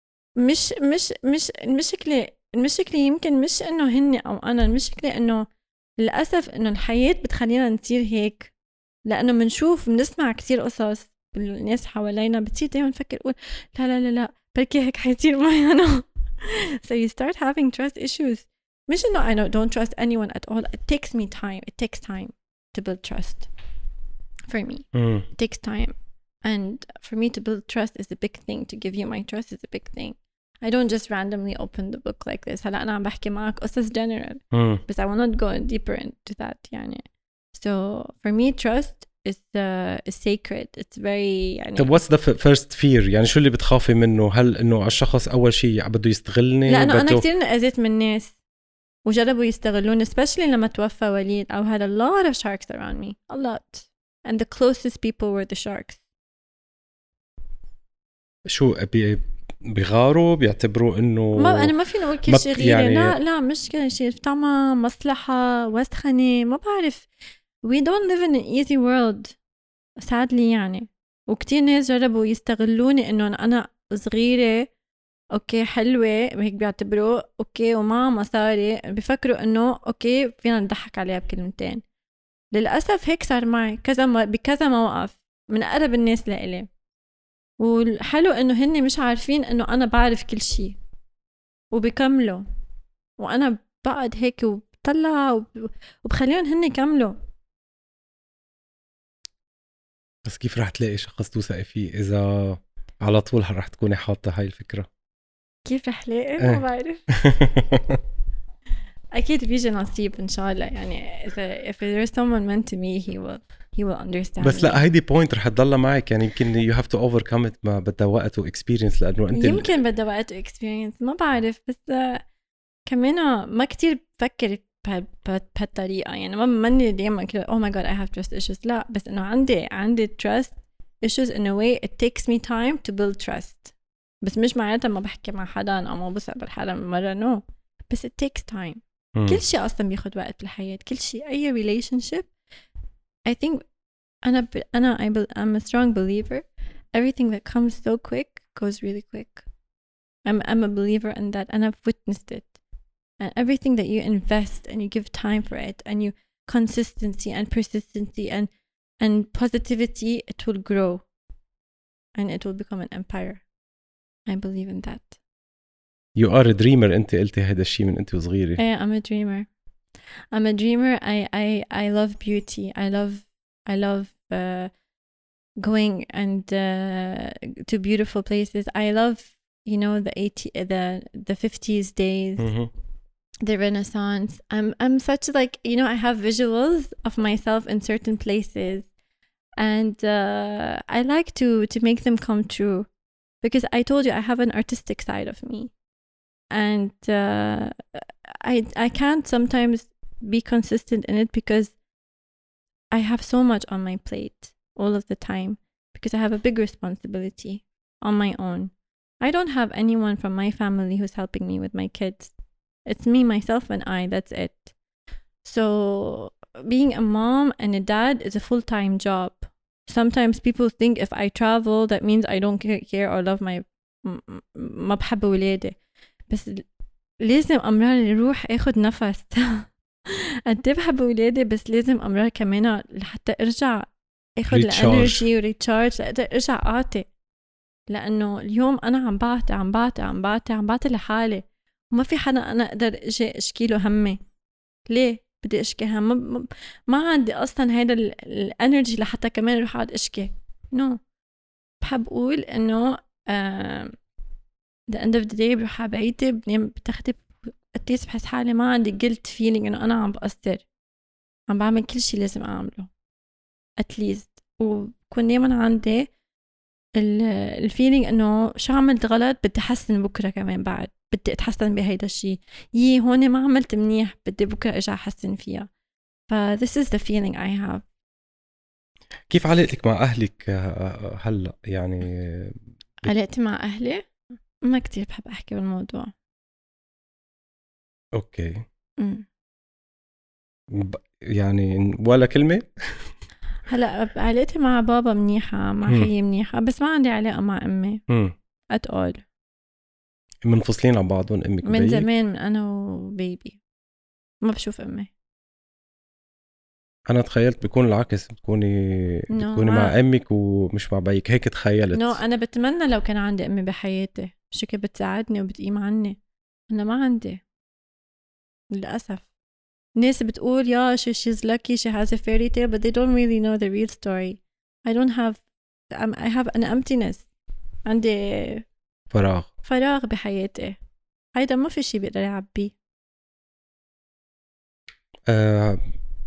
مش مش مش المشكلة المشكلة يمكن مش إنه هني أو أنا المشكلة إنه للأسف إنه الحياة بتخلينا نصير هيك لأنه منشوف بنسمع كتير قصص الناس حوالينا بتصير دايما نفكر قول لا لا لا لا بركي هيك حيصير معي أنا so you start having trust issues مش إنه I don't trust anyone at all it takes me time it takes time to build trust for me mm. it takes time and for me to build trust is a big thing to give you my trust is a big thing I don't just randomly open the book like this هلا أنا عم بحكي معك قصص general mm. but I will not go deeper into that يعني so for me trust is uh, is sacred. It's very يعني. طب what's the first fear؟ يعني شو اللي بتخافي منه؟ هل إنه الشخص أول شيء بده يستغلني؟ لأنه بده... أنا كتير أذيت من الناس وجربوا يستغلوني especially لما توفى وليد. I had a lot of sharks around me, a lot, and the closest people were the sharks. شو بي... بيغاروا بيعتبروا إنه ما أنا ما فيني أقول كل شيء غيري يعني... لا لا مش كل شيء طمع مصلحة وسخنة ما بعرف. we don't live in an easy world sadly يعني. وكتير ناس جربوا يستغلوني إنه أنا صغيرة اوكي حلوة هيك بيعتبروا اوكي وما مصاري بفكروا انه اوكي فينا نضحك عليها بكلمتين. للأسف هيك صار معي كذا م... بكذا موقف من أقرب الناس لإلي. والحلو انه هني مش عارفين انه انا بعرف كل شيء وبكملوا وانا بقعد هيك وبطلع وب... وبخليهم هني يكملوا. بس كيف رح تلاقي شخص توثقي فيه إذا على طول رح تكوني حاطة هاي الفكرة؟ كيف رح لاقي؟ ما بعرف. أكيد بيجي نصيب إن شاء الله يعني. إذا if there's someone meant to me he will he will understand. بس لا هيدي point رح تضل معك يعني. يمكن you have to overcome it. ما بدها وقت و experience لأنه أنت يمكن بدها وقت و experience ما بعرف. بس كمان ما كتير بفكر بهالطريقة يعني. ما مني دايما كده oh my god I have trust issues. لا بس إنه عندي عندي trust issues in a way it takes me time to build trust. بس مش معناتها ما بحكي مع حدا أو ما بسأل حدا من مرة no. بس it takes time. م. كل شيء أصلا بياخد وقت بالحياة. كل شيء أي relationship I think أنا ب... أنا I be... I'm a strong believer everything that comes so quick goes really quick. I'm I'm a believer in that and I've witnessed it. And everything that you invest and you give time for it and you consistency and persistency and and positivity it will grow and it will become an empire. I believe in that. You are a dreamer. أنت قلتي هذا الشيء من أنت وصغيرة. Yeah, I'm a dreamer. I'm a dreamer. I I I love beauty. I love I love uh, going and uh, to beautiful places. I love you know the eighty the the fifties days, mm-hmm. the Renaissance. I'm I'm such like you know I have visuals of myself in certain places, and uh, I like to to make them come true. Because I told you I have an artistic side of me, and uh, I I can't sometimes be consistent in it because I have so much on my plate all of the time because I have a big responsibility on my own. I don't have anyone from my family who's helping me with my kids. It's me, myself, and I. That's it. So being a mom and a dad is a full-time job. Sometimes people think if I travel that means I don't care or love my ما بحب ولادي. بس لازم أمرار يروح أخذ نفس. قد بحب ولادي بس لازم أمرار كمان لحتى أرجع أخذ الانرجي وريتشارج لأقدر أرجع أعطي. لأنه اليوم أنا عم بعطي عم بعطي عم بعطي عم بعطي لحالي وما في حدا أنا أقدر أجي أشكيله همي. ليه بدي أشكي هم؟ ما, ما عندي أصلا هيدا الانرجي لحتى كمان أروح أقعد أشكي. no. بحب أقول إنه uh, the end of the day بروح على بيتي بنام بتاخدي قديس بحس حالي ما عندي guilt feeling إنه أنا عم بقصر. عم بعمل كل شيء لازم أعمله at least. وكون دايما عندي الفيلينج إنه شو عملت غلط بدي أحسن بكرة كمان بعد بدي أتحسن بهيدا الشيء. يي هون ما عملت منيح بدي بكرة أرجع أحسن فيها. ف this is the feeling I have. كيف علاقتك مع أهلك هلأ يعني؟ علاقتي مع أهلي ما كتير بحب أحكي بالموضوع. أوكي. م. يعني ولا كلمة؟ هلأ علاقتي مع بابا منيحة مع خيي منيحة بس ما عندي علاقة مع أمي at all. منفصلين عن بعضهم أمك من زمان من أنا وبيبي ما بشوف أمي. أنا تخيلت بيكون العكس بتكوني no, بتكوني مع أمك ومش مع بيك هيك تخيلت. no, أنا بتمنى لو كان عندي أمي بحياتي شو كي بتساعدني وبتقيم عني. أنا ما عندي للأسف. ناس بتقول يا شو she's lucky she has a fairy tale but they don't really know the real story. I don't have I have an emptiness. عندي فراغ فراغ بحياتي. هيدا ما في شي بيقدر يعبيه. أه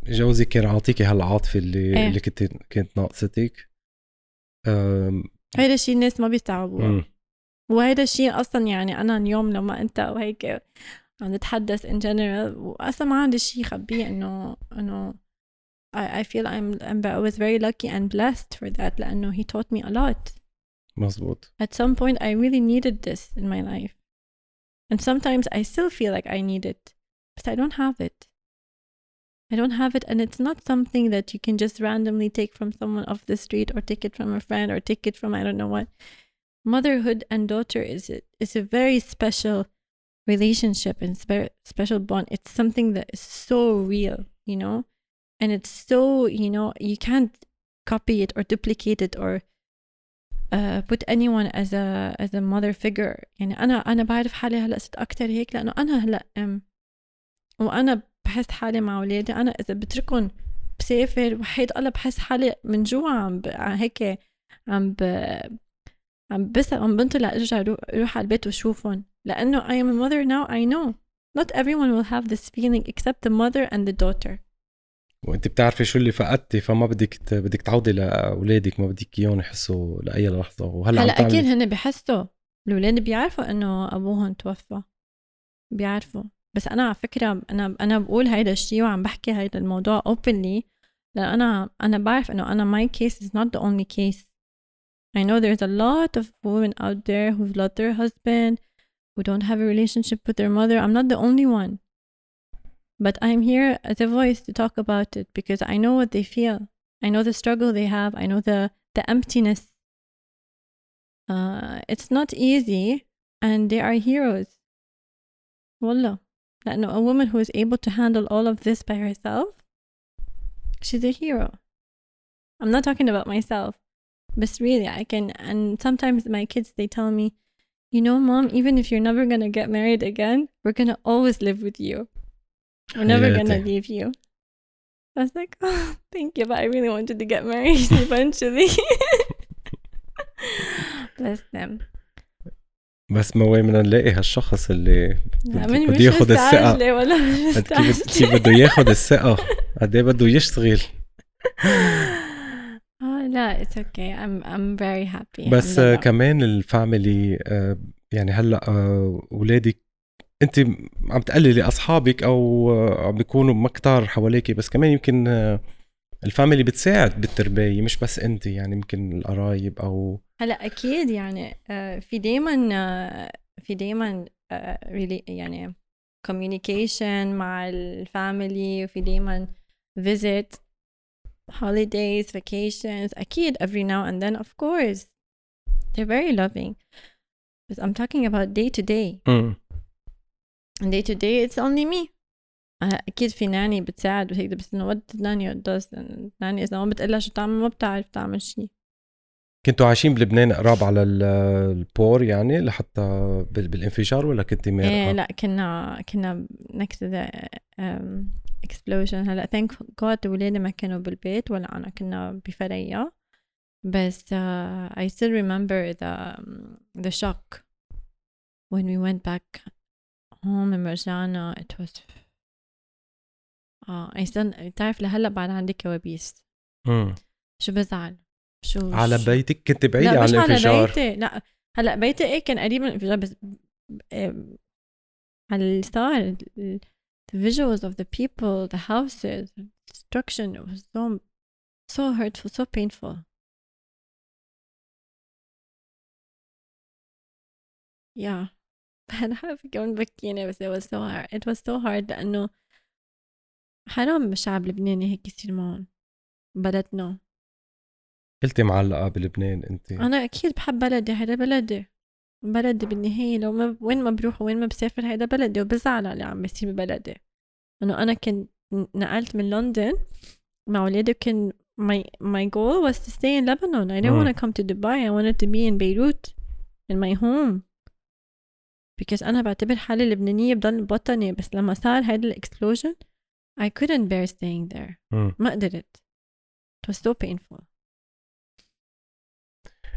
جوزك كان عاطيكي هالعاطفة اللي إيه. اللي كنت كانت ناقصتك. أم... هيدا الشيء الناس ما بيستوعبوه، مم. وهيدا الشيء اصلا يعني انا اليوم لما انت وهيك عم نتحدث in general واصلا ما عندي شيء خبيه انه انه I, I feel I'm, I'm I was very lucky and blessed for that لأنه he taught me a lot. مزبوط. At some point I really needed this in my life. And sometimes I still feel like I need it. But I don't have it. I don't have it, and it's not something that you can just randomly take from someone off the street or take it from a friend or take it from I don't know what. Motherhood and daughter is a, is a very special relationship and spe- special bond. It's something that is so real, you know? And it's so, you know, you can't copy it or duplicate it or uh, put anyone as a as a mother figure. يعني أنا أنا بعرف حالي هلا صرت أكتر هيك لأنه أنا هلا أم وأنا بحس حالي مع أولادي. أنا إذا بتركن بسافر وحيد الله بحس حالي من جوا عم ب... هيك عم ب... عم بس عم بنطلع أرجع أروح على البيت وشوفهم لأنه I am a mother now. I know not everyone will have this feeling except the mother and the daughter. وانت بتعرفي شو اللي فقدتي، فما بدك ت... بدك تعودي لاولادك، ما بدك اياهم يحسوا لاي لحظه. وهلا هلا اكيد هن بيحسوا، الاولاد بيعرفوا انه ابوهم توفى، بيعرفوا. بس انا على فكره انا انا بقول هيدا الشيء وعم بحكي هيدا الموضوع openly لان انا انا بعرف انه انا my case is not the only case. I know there's a lot of women out there who've lost their husband, who don't have a relationship with their mother. I'm not the only one. But I'm here as a voice to talk about it because I know what they feel. I know the struggle they have. I know the, the emptiness. Uh, it's not easy and they are heroes. Wallah. لأنه a woman who is able to handle all of this by herself, she's a hero. I'm not talking about myself. But really, I can, and sometimes my kids, they tell me, you know, Mom, even if you're never going to get married again, we're going to always live with you. We're never going to leave you. I was like, oh, thank you, but I really wanted to get married eventually. Bless them. بس ما وين بدنا نلاقي هالشخص اللي بده ياخذ الثقة ولا مش كيف بده ياخذ الثقة، قد ايه بده يشتغل. اه لا it's okay. I'm I'm very happy. بس uh, كمان الفاميلي uh, يعني هلا uh, اولادك انت عم تقللي اصحابك او uh, عم بيكونوا مكتار حواليكي، بس كمان يمكن uh, الفاميلي بتساعد بالتربية، مش بس انت، يعني يمكن القرايب او هلا اكيد يعني uh, في دايما uh, في دايما uh, really يعني communication مع الفاميلي، وفي دايما visit holidays vacations أكيد every now and then of course they're very loving. But I'm talking about day to day. mm. and day to day it's only me. أكيد في ناني بتساعد وهيك، بس إنه what ناني does ناني إذا ما بتقلها شو تعمل ما بتعرف تعمل شيء. كنتوا عايشين بلبنان قراب على البور يعني لحتى بالانفجار ولا كنتي مارقة؟ إيه لا كنا كنا next to the um, explosion. هلا thank God ولادي ما كانوا بالبيت ولا أنا، كنا بفرية. بس uh, I still remember the um, the shock when we went back home in Marjana. It was آه uh, I still تعرف لهلا بعد عندي كوابيس. امم شو بزعل شو على شو. بيتك كنت بعيدة عن الانفجار؟ لا مش على بيتي، لا هلا بيتي ايه كان قريب من الانفجار، بس على اللي صار the visuals of the people, the houses, the destruction, it was so so hurtful, so painful. yeah أنا عارفة كمان بكينا، بس it was so hard it was so hard لأنه حرام الشعب اللبناني هيك يصير معهم بلدنا. قلتي معلقة بلبنان انت؟ أنا أكيد بحب بلدي، هذا بلدي بلدي بالنهاية. لو ما وين ما بروح وين ما بسافر هيدا بلدي، وبزعل على اللي عم بيصير ببلدي. إنه أنا كنت نقلت من لندن مع ولادي، كان my my goal was to stay in Lebanon. I didn't want to come to Dubai. I wanted to be in Beirut in my home because أنا بعتبر حالي لبنانية بضل بوطني. بس لما صار هيدا explosion I couldn't bear staying there. م. ما قدرت. It was so painful.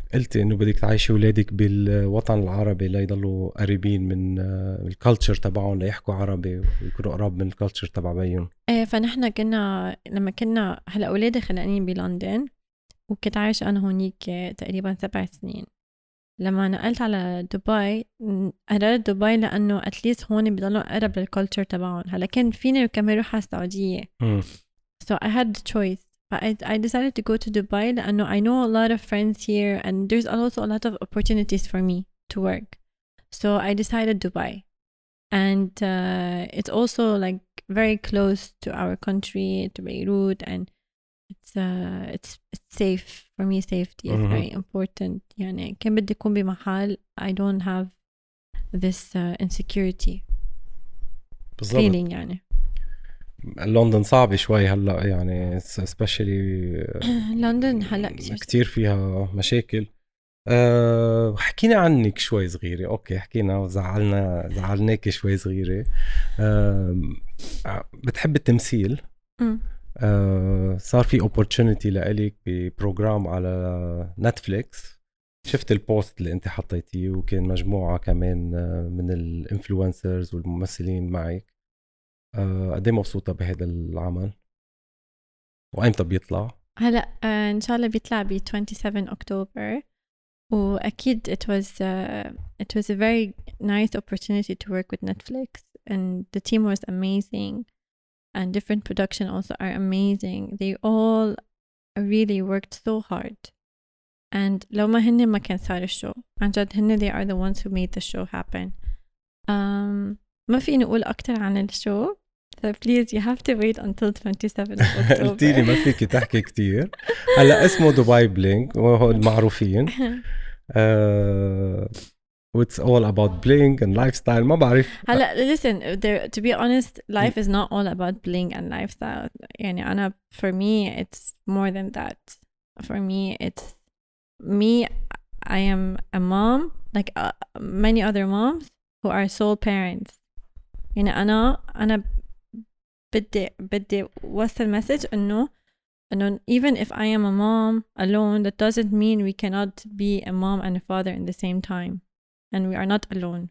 قلتي انه بدك تعيشي اولادك بالوطن العربي ليضلوا قريبين من الكالتشر تبعهم، ليحكوا عربي ويكونوا قراب من الكالتشر تبع بيهم. ايه فنحن كنا لما كنا هلا اولادي خلقانين بلندن وكنت عايشة انا هونيك تقريبا سبع سنين. لما نقلت على دبي قررت دبي لانه اتليست هون بيضلوا قرب للكالتشر تبعهم. هلا كان فيني كمان اروح على السعودية م. so I had the choice. But I, I decided to go to Dubai لأنه I know a lot of friends here and there's also a lot of opportunities for me to work. So I decided Dubai. And uh, it's also like very close to our country, to Beirut, and it's uh, it's it's safe for me. Safety is Mhm. very important. يعني كان بدي أكون بمحل I don't have this uh, insecurity بالضبط. feeling يعني. لندن صعبة شوي هلا يعني especially لندن هلا كتير كتير فيها مشاكل. أه حكينا عنك شوي صغيرة. اوكي حكينا وزعلنا زعلناك شوي صغيرة. أه بتحب التمثيل. م. أه صار في opportunity لإلك ببروجرام على نتفليكس. شفت البوست اللي انت حطيتيه وكان مجموعة كمان من الانفلونسرز والممثلين معك. أه قدي مبسوطة بهذا العمل وأيمتى بيطلع؟ هلا آه إن شاء الله بيطلع ب twenty-seventh أكتوبر. وأكيد it was uh, it was a very nice opportunity to work with Netflix and the team was amazing and different production also are amazing. They all really worked so hard and لو ما هن ما كان صار الشو عن جد. هن they are the ones who made the show happen. um, ما فيني أقول أكتر عن الشو so please you have to wait until twenty-seventh of October. قلتيلي ما فيك تحكي كتير. هلا اسمه دبي بلينك وهو المعروفين. uh, it's all about bling and lifestyle. ما بعرف. هلا listen there, to be honest life is not all about bling and lifestyle. يعني أنا for me it's more than that. For me it's me I am a mom like uh, many other moms who are sole parents. يعني أنا أنا بدي بدي وصل message إنه إنه even if I am a mom alone that doesn't mean we cannot be a mom and a father in the same time and we are not alone.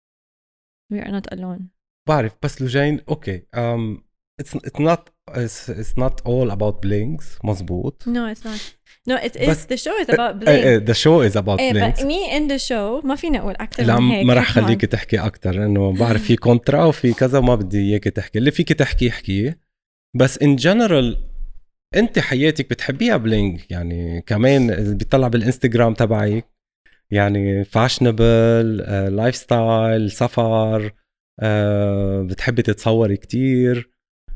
We are not alone. بعرف بس لجين اوكي um, it's it's not it's, it's not all about blings. مزبوط. No it's not. No it is بس the show is about bling. the show is about eh, blings. but me in the show ما فيني أقول أكتر لا من هيك. ما رح خليك تحكي أكتر لأنه بعرف في كونترا وفي كذا وما بدي إياك تحكي. اللي فيك تحكي احكيه بس in general أنت حياتك بتحبيها بلينج يعني. كمان بيطلع بالإنستغرام تبعك يعني فاشنبل لايف ستايل سفر. أه بتحبي تتصوري كتير.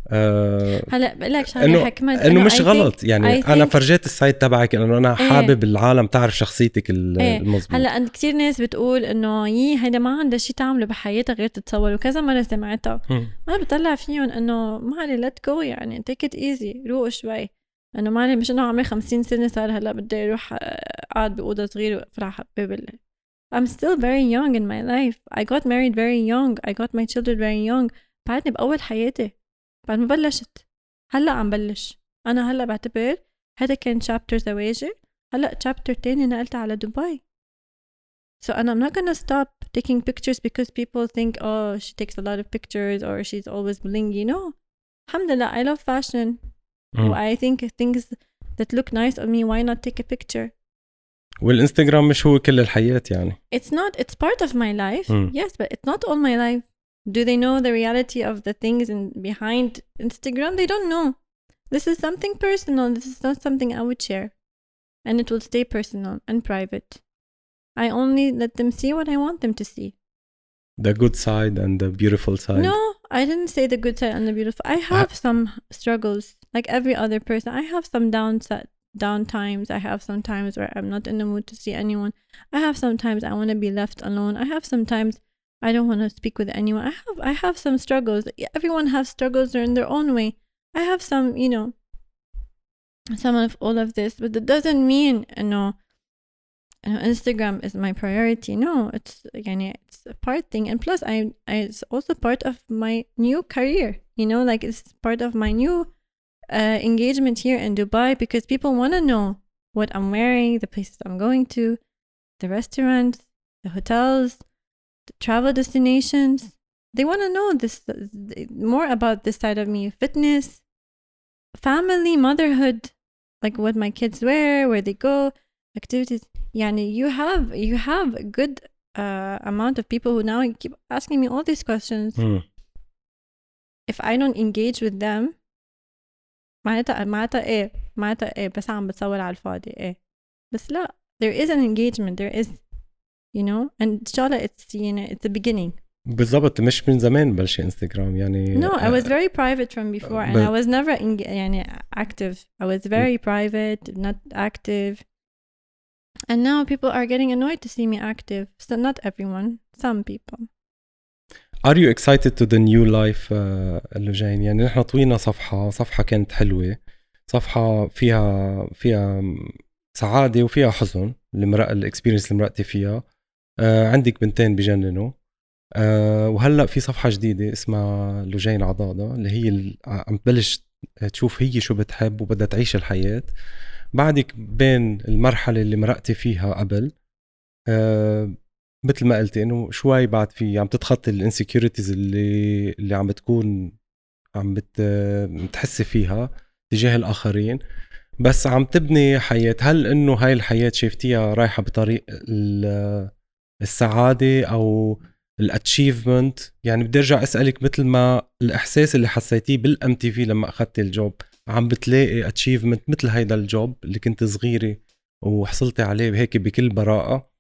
أه هلا بقول لك شغله حكمه انه مش غلط يعني. انا فرجيت السايت تبعك لانه انا حابب ايه. العالم تعرف شخصيتك ايه. المظبوط. هلا عند كتير ناس بتقول انه يي هيدا ما عندها شيء تعمله بحياتها غير تتصور وكذا مره سمعتها. انا بطلع فيهم انه ما علي ليت جو يعني تيك ات ايزي روق شوي. انه ما علي مش انه عمري خمسين سنه صار هلا بدي اروح قاعد باوضه صغيره وافرح ببل. I'm still very young in my life. I got married very young. I got my children very young. بعدني بأول حياتي بعد ما بلشت. هلأ عم بلش. أنا هلأ بعتبر هذا كان chapter زواجي. هلأ chapter تاني نقلت على دبي. So I'm not gonna stop taking pictures because people think oh she takes a lot of pictures or she's always blingy. No. Alhamdulillah I love fashion. Mm. I think things that look nice on me why not take a picture. والإنستغرام مش هو كل الحياة يعني. It's not. It's part of my life. Mm. Yes, but it's not all my life. Do they know the reality of the things in behind Instagram? They don't know. This is something personal. This is not something I would share. And it will stay personal and private. I only let them see what I want them to see. The good side and the beautiful side. No, I didn't say the good side and the beautiful. I have I- some struggles like every other person. I have some downside. down times. I have some times where I'm not in the mood to see anyone. I have sometimes I want to be left alone. I have sometimes I don't want to speak with anyone. I have I have some struggles. Everyone has struggles in their own way. I have some, you know, some of all of this, but that doesn't mean you know, you know Instagram is my priority. No, it's يعني it's a part thing. And plus I, I it's also part of my new career. You know, like it's part of my new Uh, engagement here in Dubai because people want to know what I'm wearing, the places I'm going to, the restaurants, the hotels, the travel destinations. They want to know this more about this side of me: fitness, family, motherhood, like what my kids wear, where they go, activities. Yani you have you have a good uh, amount of people who now keep asking me all these questions. Mm. If I don't engage with them, معناتها معناتها ايه معناتها ايه بس عم بتصور على الفاضي ايه بس لا. There is an engagement, there is, you know, and إن شاء الله it's, you know, it's the beginning. بالضبط. مش من زمان بلش انستغرام يعني. No, I was very private from before and I was never in, يعني active. I was very private, not active. And now people are getting annoyed to see me active. So not everyone, some people. Are you excited to the new life uh, اللي جايين؟ يعني نحن طوينا صفحة صفحة كانت حلوة، صفحة فيها فيها سعادة وفيها حزن. المرأة الإكسبيرينس اللي مرقتي فيها. آه عندك بنتين بجننوا. آه وهلأ في صفحة جديدة اسمها لجين عضاضة اللي هي عم تبلش تشوف هي شو بتحب وبدها تعيش الحياة. بعدك بين المرحلة اللي مرقتي فيها قبل آه مثل ما قلتي انه شوي بعد في عم تتخطي الانسكيورتيز اللي اللي عم بتكون عم بتحسي فيها تجاه الاخرين، بس عم تبني حياة. هل انه هاي الحياة شايفتيها رايحة بطريق السعادة او الاتشيفمنت؟ يعني بدي ارجع اسالك مثل ما الاحساس اللي حسيتيه بالام تي في لما اخذتي الجوب، عم بتلاقي اتشيفمنت مثل هيدا الجوب اللي كنت صغيرة وحصلتي عليه هيك بكل براءة؟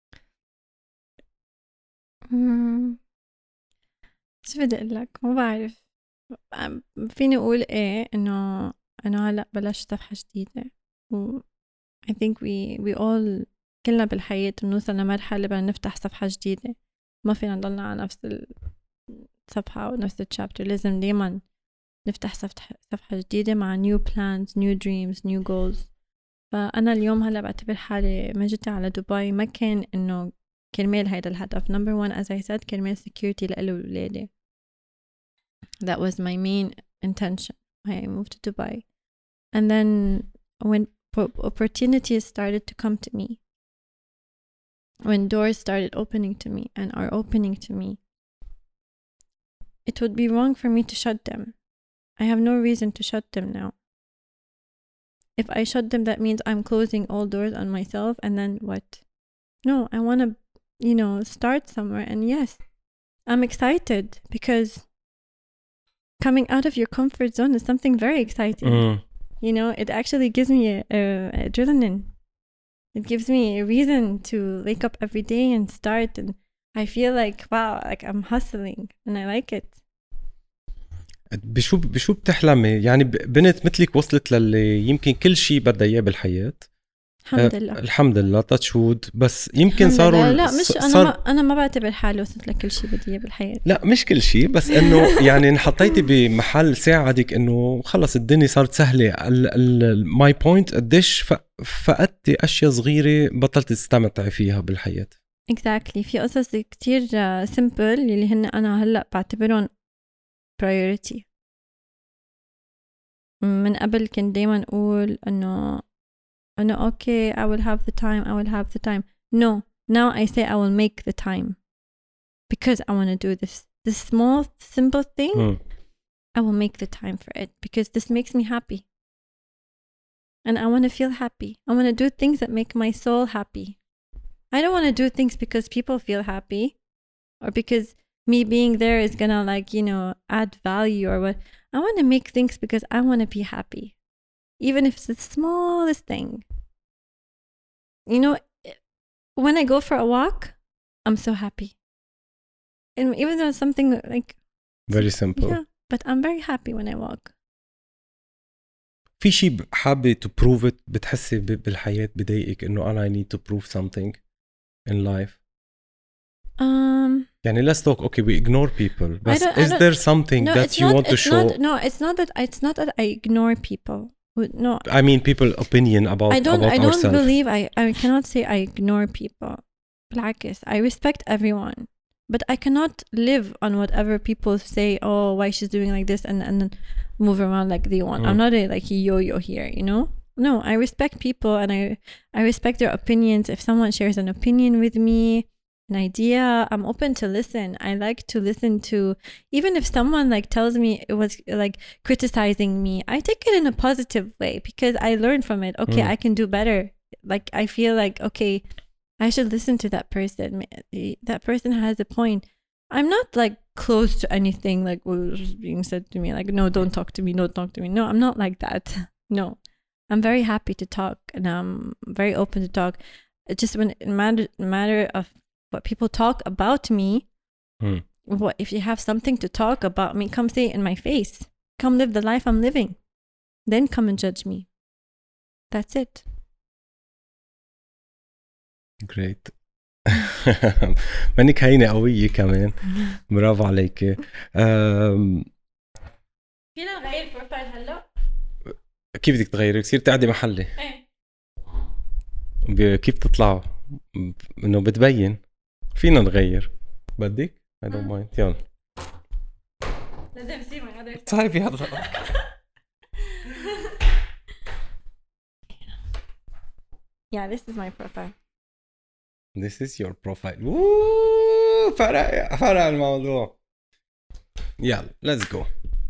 شو بدي اقول لك، ما بعرف. فيني اقول ايه انه انه هلا بلشت صفحه جديده و I think we we all كلنا بالحياه بنوصل لمرحله بدنا نفتح صفحه جديده. ما فينا نضلنا على نفس الصفحه او نفس الشابتر، لازم دايما نفتح صفحه صفحه جديده مع new plans, new dreams, new goals. فانا اليوم هلا بعتبر حالي ما جيت على دبي ما كان انه كرمال هيدا الهدف. number one as I said كرمال security لإلي وولادي. That was my main intention. I moved to Dubai. And then when opportunities started to come to me, when doors started opening to me and are opening to me, it would be wrong for me to shut them. I have no reason to shut them now. If I shut them, that means I'm closing all doors on myself, and then what? No, I want to, you know, start somewhere. And yes, I'm excited because coming out of your comfort zone is something very exciting. Mm. You know, it actually gives me a, a, adrenaline. It gives me a reason to wake up every day and start, and I feel like wow, like I'm hustling and I like it. بشو بشو بتحلمي؟ يعني بنت مثلك وصلت للي يمكن كل شيء بدها اياه بالحياة. الحمد لله. أه الحمد لله تاتشود. بس يمكن صاروا لا مش صار... انا ما انا ما بعتبر حالي وصلت لكل شيء بدي اياه بالحياه. لا مش كل شيء، بس انه يعني انحطيتي بمحل ساعدك انه خلص الدنيا صارت سهله. ماي بوينت قديش فقدتي اشياء صغيره بطلت تستمتعي فيها بالحياه. exactly. في قصص كتير simple اللي هن انا هلا بعتبرهم priority. من قبل كنت دايما اقول انه انه okay I will have the time I will have the time. No, now I say I will make the time because I want to do this this small simple thing. mm. I will make the time for it because this makes me happy and I want to feel happy. I want to do things that make my soul happy. I don't want to do things because people feel happy or because me being there is gonna like, you know, add value or what. I want to make things because I want to be happy, even if it's the smallest thing. You know, when I go for a walk, I'm so happy. And even though it's something like very simple, yeah, but I'm very happy when I walk. في شيء حابة to prove it بتحسي بالحياة بضايقك إنه أنا I need to prove something in life? Um. يعني let's talk. Okay, we ignore people. But is there something no, that you not, want to show? Not, no, it's not that. It's not that I ignore people. No, I mean people opinion about I don't. about I don't ourselves. believe. I. I cannot say I ignore people. بالعكس, I respect everyone, but I cannot live on whatever people say. Oh, why she's doing like this, and and then move around like they want. Mm. I'm not a like yo-yo here, you know. no, I respect people and I I respect their opinions. If someone shares an opinion with me, an idea, I'm open to listen. I like to listen to, even if someone like tells me it was like criticizing me, I take it in a positive way because I learn from it. Okay, mm. I can do better. Like I feel like, okay, I should listen to that person. That person has a point. I'm not like close to anything like what was being said to me. Like, no, don't talk to me. Don't talk to me. No, I'm not like that. No, I'm very happy to talk and I'm very open to talk. It's just when it matter, matter of what people talk about me, hmm. what if you have something to talk about me, come say it in my face. Come live the life I'm living. Then come and judge me. That's it. Great. منك هينة قوية كمان. برافو عليك. فينا نغير البروفايل هلا؟ كيف بدك تغيري؟ بصير تقعدي محلي. ايه. كيف تطلعوا؟ انه بتبين. فينا نغير. بدك؟ I don't mind. يلا. لازم يصير من هذا. طيب يلا. Yeah, this is my profile. This is your profile. Woo! فرق فرق الموضوع. يلا let's go.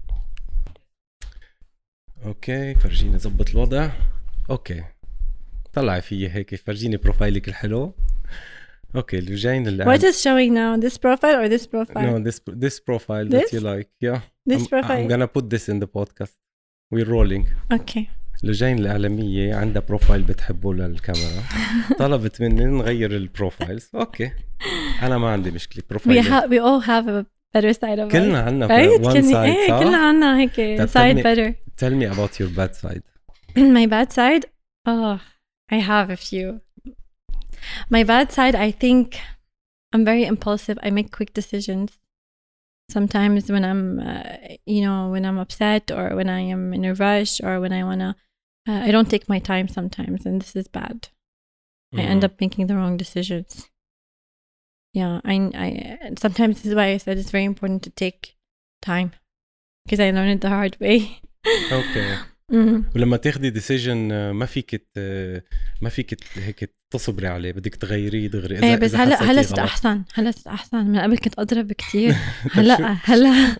اوكي فرجيني زبط الوضع. اوكي طلعي فيي هيك فرجيني بروفايلك الحلو. اوكي اللي جايين اللي What is showing now? This profile or this profile? No, this this profile this? that you like. Yeah. This I'm, profile. I'm gonna put this in the podcast. We're rolling. Okay. لجين الإعلامية عندها بروفايل بتحبه للكاميرا. طلبت مني نغير البروفايلز. أوكي أنا ما عندي مشكلة. بروفايل. We have we all have a better side of us. كلنا عنا right? one side. إيه كلنا عنا هيك side me, better. Tell me about your bad side. My bad side? Oh, I have a few. My bad side, I think I'm very impulsive. I make quick decisions. Sometimes when I'm, uh, you know, when I'm upset or when I am in a rush or when I wanna. Uh, I don't take my time sometimes, and this is bad. Mm. I end up making the wrong decisions. Yeah, I, I. Sometimes this is why I said it's very important to take time, because I learned it the hard way. Okay. Mm-hmm. ولما تاخدي decision ما فيك ما فيك هيك تصبري عليه بدك تغيريه دغري. إذا بس هلا هلا صرت أحسن هلا صرت أحسن من قبل كنت أضرب كتير. هلا هلا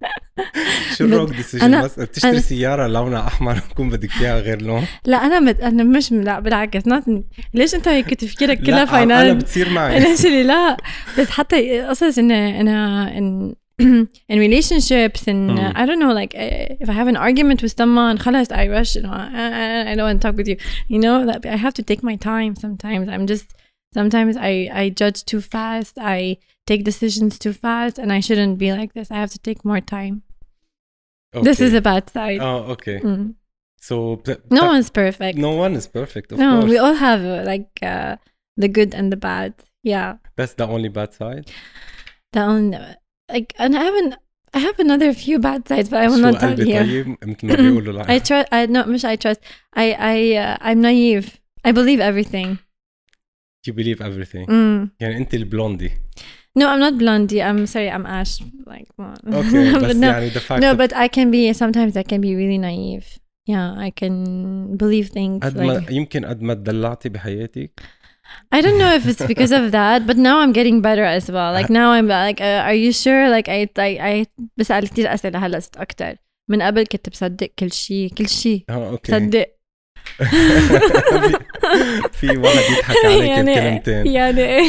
شو الروك ديسيجن؟ بس تشتري سيارة لونها أحمر وكون بدك فيها غير لون. لا أنا مت... أنا مش لا بالعكس ناتني. ليش أنت هيك تفكيرك كلها فاينال؟ أنا بتصير معي. أنا شلي لا بس حتى قصص إن أنا إن in relationships and mm. uh, I don't know like uh, if I have an argument with someone خلاص I rush you know I, I don't want to talk with you you know that I have to take my time sometimes I'm just sometimes I, I judge too fast I take decisions too fast and I shouldn't be like this I have to take more time. Okay. This is a bad side. Oh okay. Mm. So th- no one's perfect. No one is perfect of no, course. We all have uh, like uh, the good and the bad. Yeah. That's the only bad side? The only like and I haven't I have another few bad sides but I will not tell you. I trust I no مش I trust I I uh, I'm naive. I believe everything. You believe everything. Mm. يعني أنت البلوندي. No, I'm not blondie. I'm sorry, I'm Ash. Like, well. Okay, but no, يعني the fact no, of... but I can be sometimes I can be really naive. Yeah, I can believe things. قد ما like... يمكن قد ما تدلعتي بحياتك. I don't know if it's because of that, but now I'm getting better as well. Like now I'm like, uh, are you sure? Like I, I, I بسأل كتير أسئلة هلا صرت أكتر. من قبل كنت بصدق كل شيء، كل شيء. اه اوكي. صدق. في واحد يضحك عليك يعني بكلمتين. يعني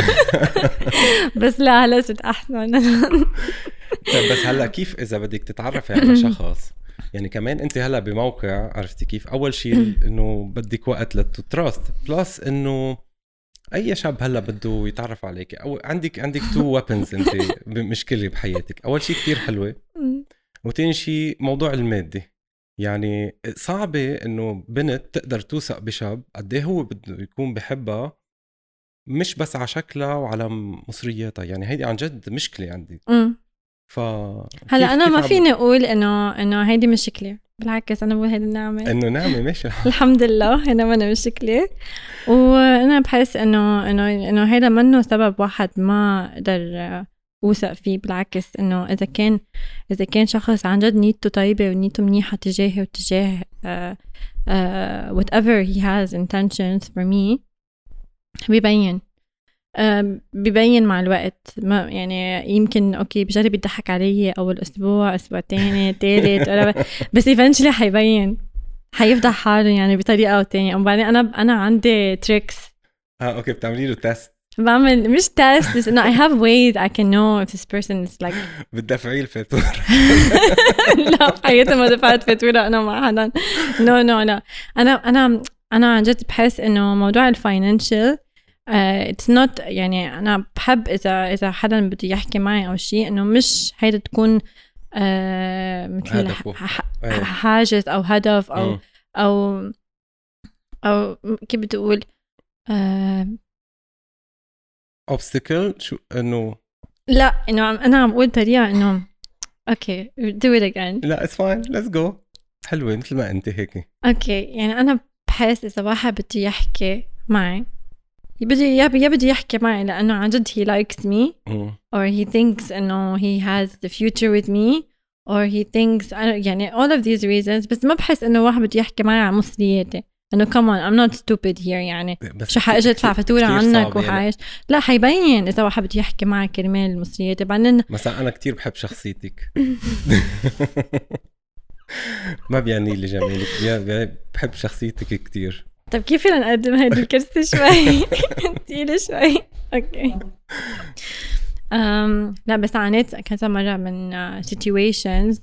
بس لا هلا صرت أحسن. طيب بس هلا كيف إذا بدك تتعرفي على شخص؟ يعني كمان أنت هلا بموقع عرفتي كيف؟ أول شيء إنه بدك وقت للتراست، بلس إنه أي شاب هلا بده يتعرف عليك أو عندك عندك تو ويبنز أنت بمشكلة بحياتك. أول شيء كتير حلوة، وتاني شيء موضوع المادي. يعني صعبة إنه بنت تقدر توثق بشاب قديه هو بده يكون بحبها مش بس على شكلها وعلى مصرياتها. يعني هيدي عن جد مشكلة عندي. ف هلا أنا ما فيني أقول إنه إنه هيدي مشكلة، بالعكس أنا بقول هيدي نعمة. إنه نعمة ماشي. الحمد لله هنا ما مشكلة، وأنا بحس إنه إنه إنه هيدا منه سبب واحد ما قدر أوثق فيه. بالعكس إنه إذا كان إذا كان شخص عن جد نيته طيبة ونيته منيحة تجاهي وتجاه uh, uh, whatever he has intentions for me بيبين uh, بيبين مع الوقت. ما يعني يمكن أوكي بجرب يضحك علي أول أسبوع أسبوع تاني تالت بس eventually حيبين حيفضح حاله يعني بطريقة أو تانية. وبعدين أنا أنا عندي tricks. اه أوكي بتعملي له تيست؟ بعمل مش تيست بس إنه I have ways I can know if this person is like بتدفعي الفاتورة؟ لا حياتي ما دفعت فاتورة أنا مع حدا. no no no أنا أنا أنا عن جد بحس إنه موضوع الفاينانشال uh, it's not يعني أنا بحب إذا إذا حدا بده يحكي معي أو شيء إنه مش هيدا تكون uh, مثل حاجز أو هدف أو م. أو أو كيف بتقول uh, obstacle شو إنه لا إنه أنا عم بقول طريقة إنه okay do it again. لا it's fine let's go. حلوة مثل ما أنت هيك. اوكي يعني أنا بحس إذا واحد بده يحكي معي بدي يا بدي يحكي معي لأنه عن جد he likes me mm. or he thinks إنه he has the future with me or he thinks يعني all of these reasons. بس ما بحس إنه واحد بده يحكي معي عن مصرياتي إنه come on I'm not stupid here يعني شو حاجة أدفع فاتورة عنك وحايش. لا حيبين إذا واحد بده يحكي معي كرمال مصرياتي. بعدين مثلا أنا كتير بحب شخصيتك ما بيعني لي جميلك بحب شخصيتك كتير. طب كيف فينا نقدم هيدي الكرسي شوي تقيلة شوي اوكي. um, لا بس عانيت كذا مرة من uh, situations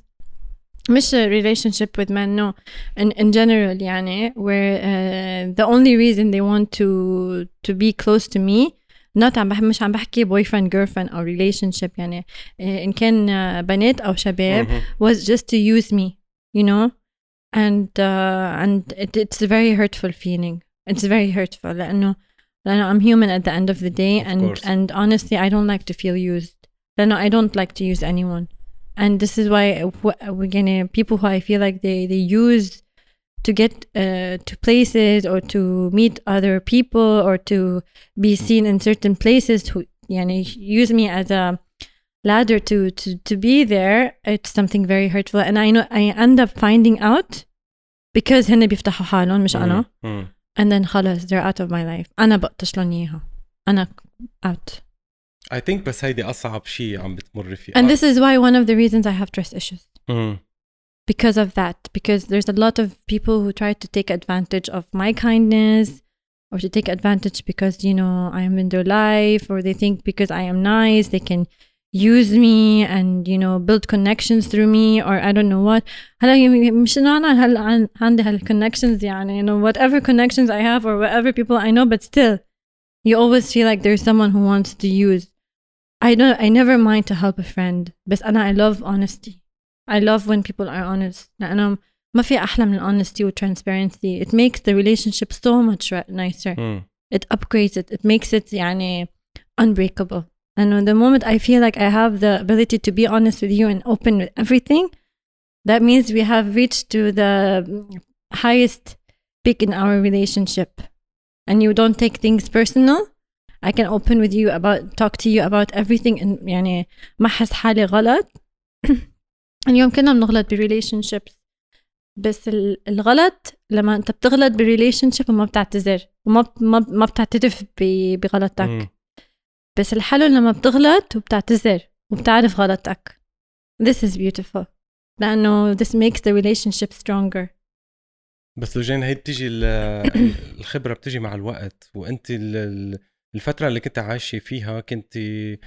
مش relationship with men no in, in general يعني where uh, the only reason they want to to be close to me not عم بحب مش عم بحكي boyfriend girlfriend أو relationship يعني إن كان uh, بنات أو شباب was just to use me you know and uh, and it, it's a very hurtful feeling. It's very hurtful لأنه لأنه I'm human at the end of the day of and course. And honestly I don't like to feel used لأنه I don't like to use anyone and this is why again people who I feel like they they use to get uh, to places or to meet other people or to be seen in certain places who يعني use me as a ladder to to to be there. It's something very hurtful and I know I end up finding out because هن بيفتحوا حالهم مش أنا mm. and then خلاص they're out of my life. أنا بقطش لهم إياها أنا out. I think بس هيدي أصعب شيء عم بتمر فيه. And this is why one of the reasons I have trust issues mm. because of that because there's a lot of people who try to take advantage of my kindness or to take advantage because you know I am in their life or they think because I am nice they can use me and you know build connections through me or I don't know what. هلا مش إنه أنا هلا عندي هال connections يعني you know whatever connections I have or whatever people I know but still you always feel like there's someone who wants to use. I don't I never mind to help a friend بس أنا I love honesty. I love when people are honest لأنه ما في أحلى من honesty و transparency. It makes the relationship so much nicer. mm. It upgrades it. It makes it يعني unbreakable. And the moment I feel like I have the ability to be honest with you and open with everything, that means we have reached to the highest peak in our relationship. And you don't take things personal. I can open with you about, talk to you about everything and يعني ما حس حالي غلط. اليوم كنا بنغلط برelationships بس الغلط لما انت بتغلط برelationship وما بتعتذر وما ما ما بتعترف بغلطك. mm. بس الحلو لما بتغلط وبتعتذر وبتعرف غلطك. This is beautiful. لأنه this makes the relationship stronger. بس لجين هي بتيجي الخبرة بتيجي مع الوقت وأنت الفترة اللي كنت عايشة فيها كنت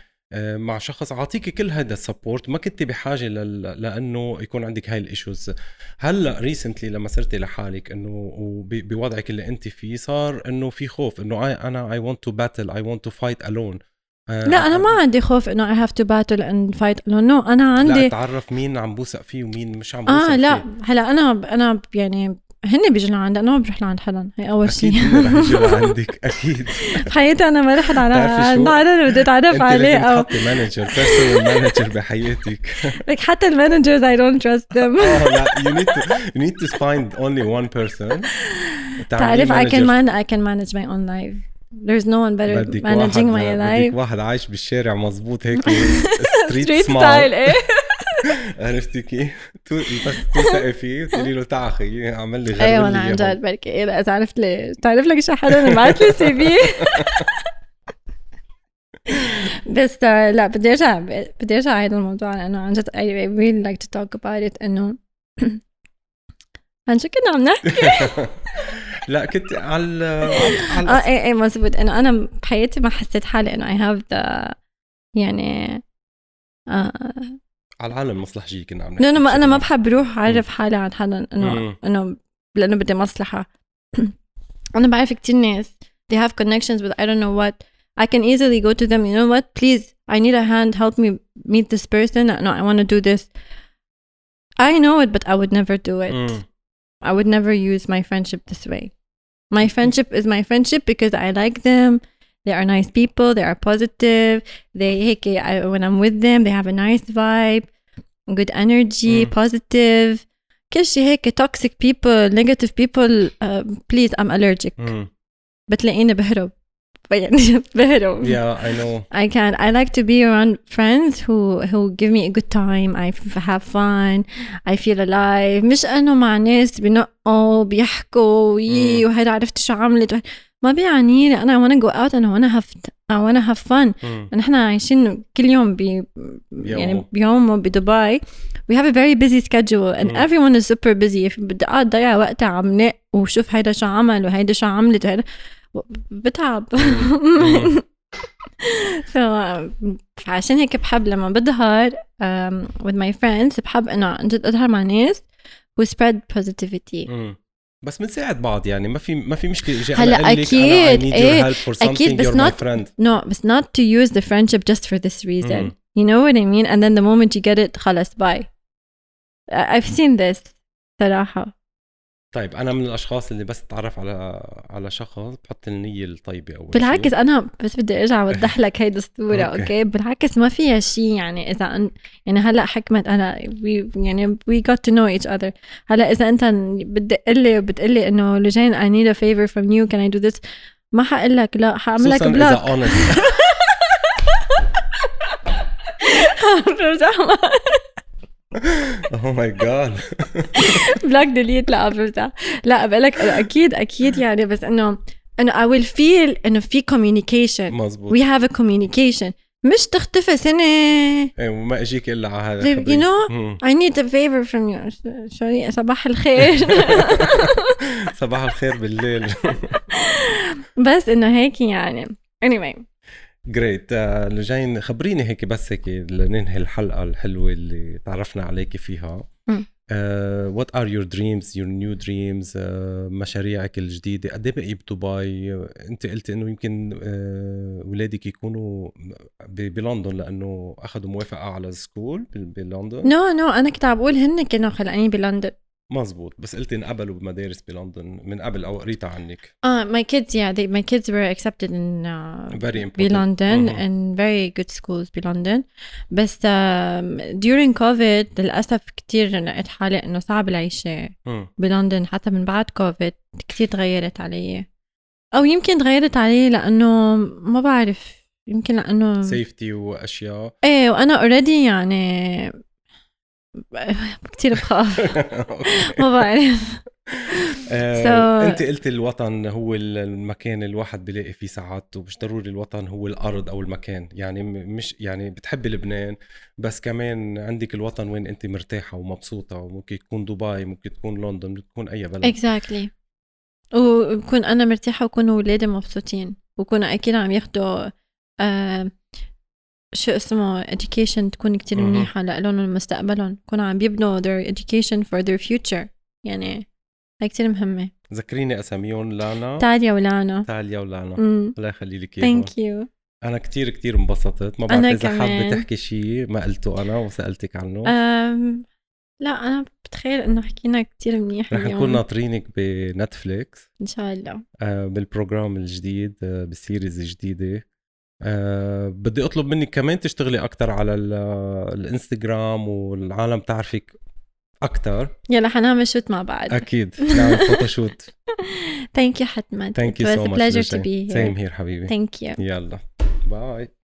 مع شخص عاطيك كل هذا السبورت ما كنت بحاجة لأنه يكون عندك هاي الإيشوز. هلأ ريسنتلي لما صرتي لحالك إنه بوضعك اللي أنت فيه صار إنه في خوف إنه أنا I want to battle I want to fight alone. لا أنا ما عندي خوف إنه I have to battle and fight alone. no أنا عندي لا أتعرف مين عم بوثق فيه ومين مش عم بوثق آه فيه. لا هلا أنا أنا يعني هن بيجوا لعندي أنا ما بروح لعند حدا. هي أول شيء أكيد رح يجوا لعندك أكيد. بحياتي أنا ما رحت على عند حدا بدي أتعرف عليه أو أنت لازم تحطي مانجر personal manager بحياتك. like حتى المانجرز I don't trust them. oh لا you need to you need to find only one person. تعرف I can man I can manage my own life. There's no one better managing my life. بدك واحد عايش بالشارع مزبوط هيك street style إيه عرفتي كيف؟ بس توثقي فيه تقولي له تعا اخي اعمل لي غير ايوه انا عن جد بركي ايه لا عرفت لي تعرف لك شي حدا بعت لي سي في. بس لا بدي ارجع بدي ارجع هذا الموضوع لانه عن جد I really like to talk about it انه عن شو كنا عم نحكي. لا كنت على على اه ايه ايه مزبوط انه انا بحياتي ما حسيت حالي انه I have the يعني آه على العالم المصلحجية كنا عم نحكي. انا ما انا ما بحب روح اعرف م. حالي عن حدا انه انه لانه بدي مصلحة. انا بعرف كتير ناس they have connections with I don't know what I can easily go to them, you know what, please I need a hand, help me meet this person, no I want to do this. I know it but I would never do it. mm. I would never use my friendship this way. My friendship is my friendship because I like them, they are nice people, they are positive, they hey, I, when I'm with them they have a nice vibe, good energy, mm. positive. كل شيء هيك toxic people, negative people, uh, please I'm allergic. mm. بتلاقيني بهرب يعني بهرب. Yeah, I know. I can't. I like to be around friends who who give me a good time. I have fun. I feel alive. مش أنه مع ناس بنقوا بيحكوا وي وهذا عرفت شو عملت ما بيعني لي. أنا I wanna go out and I wanna have I wanna have fun. نحن عايشين كل يوم ب يعني بيوم بدبي. We have a very busy schedule and mm. everyone is super busy. بدي أقعد ضيع وقتها عم نق وشوف هيدا شو عمل وهيدا شو عملت وهيدا بتعب. so, فعشان هيك بحب لما بظهر um, with my friends بحب انه جد اظهر مع ناس who spread positivity. مم. بس بنساعد بعض يعني ما في ما في مشكله اجي هلا انا اكيد أنا I need your help for something, اكيد بس you're not my friend. no بس not to use the friendship just for this reason. مم. You know what I mean? And then the moment you get it خلاص bye. I've seen this صراحه. طيب أنا من الأشخاص اللي بس تعرف على على شخص بحط النية الطيبة أول شيء. بالعكس أنا بس بدي أرجع أوضح لك هيدا الصورة. أوكي. أوكي بالعكس ما فيها شيء يعني إذا أن يعني هلأ حكمت أنا we يعني we got to know each other. هلأ إذا أنت بتقلي وبتقلي إنه لجين I need a favor from you can I do this ما حقلك لا حأعمل لك بلوك. oh my god. بلاك ديليت لا برجع لا بقولك اكيد اكيد يعني بس انه انه I will feel انه في communication. مزبوط. we have a communication مش تختفي سنة ايه وما اجيك الا على هذا you know I need a favor from you. sorry صباح الخير. صباح الخير بالليل. بس انه هيك يعني anyway جريت. اللي جايين خبريني هيك بس هيك لننهي الحلقة الحلوة اللي تعرفنا عليك فيها. uh, what are your dreams, your new dreams, uh, مشاريعك الجديدة؟ قد ايه بقي بدبي؟ انت قلت انه يمكن uh, ولادك يكونوا بلندن لانه اخذوا موافقة على سكول بلندن. نو نو انا كنت عم بقول هن كانوا خلقانين بلندن. مزبوط بس قلت انقبلوا بمدارس بلندن من قبل او قريتها عنك. اه my kids yeah they, my kids were accepted in uh, very important بلندن mm-hmm. and very good schools بلندن. بس uh, during COVID للأسف كتير لقيت حالي انه صعب العيشة mm. بلندن حتى من بعد COVID كتير تغيرت علي او يمكن تغيرت علي لانه ما بعرف يمكن لانه safety واشياء. ايه وانا already يعني كتير بخاف. ما بعرف. so... انت قلت الوطن هو المكان الواحد بيلاقي فيه سعادته. مش ضروري الوطن هو الارض او المكان يعني مش يعني بتحبي لبنان بس كمان عندك الوطن وين انت مرتاحه ومبسوطه وممكن تكون دبي ممكن تكون لندن ممكن تكون اي بلد. exactly وبكون انا مرتاحه وكون اولادي مبسوطين وكونوا اكيد عم ياخدوا آه شو اسمه education تكون كتير منيحة لألهم مستقبلهم كونوا عم بيبنوا their education for their future يعني هاي كتير مهمة. ذكريني أساميون. لانا تاليا ولانا. تاليا ولانا الله يخلي لك إياهم. thank you. أنا كتير كتير انبسطت. ما بعرف إذا حابة تحكي شيء ما قلته أنا وسألتك عنه. أم... لا أنا بتخيل إنه حكينا كتير منيح اليوم. رح نكون ناطرينك بنتفليكس إن شاء الله آه بالبروجرام الجديد آه بالسيريز الجديدة. أه بدي أطلب منك كمان تشتغلي أكتر على الانستغرام والعالم تعرفك أكتر. يلا حنعمل شوت مع بعض. أكيد نعمل فوتوشوت. Thank you حتما. Thank you so much. It was a pleasure to be here. Same here حبيبي. Thank you. يلا باي.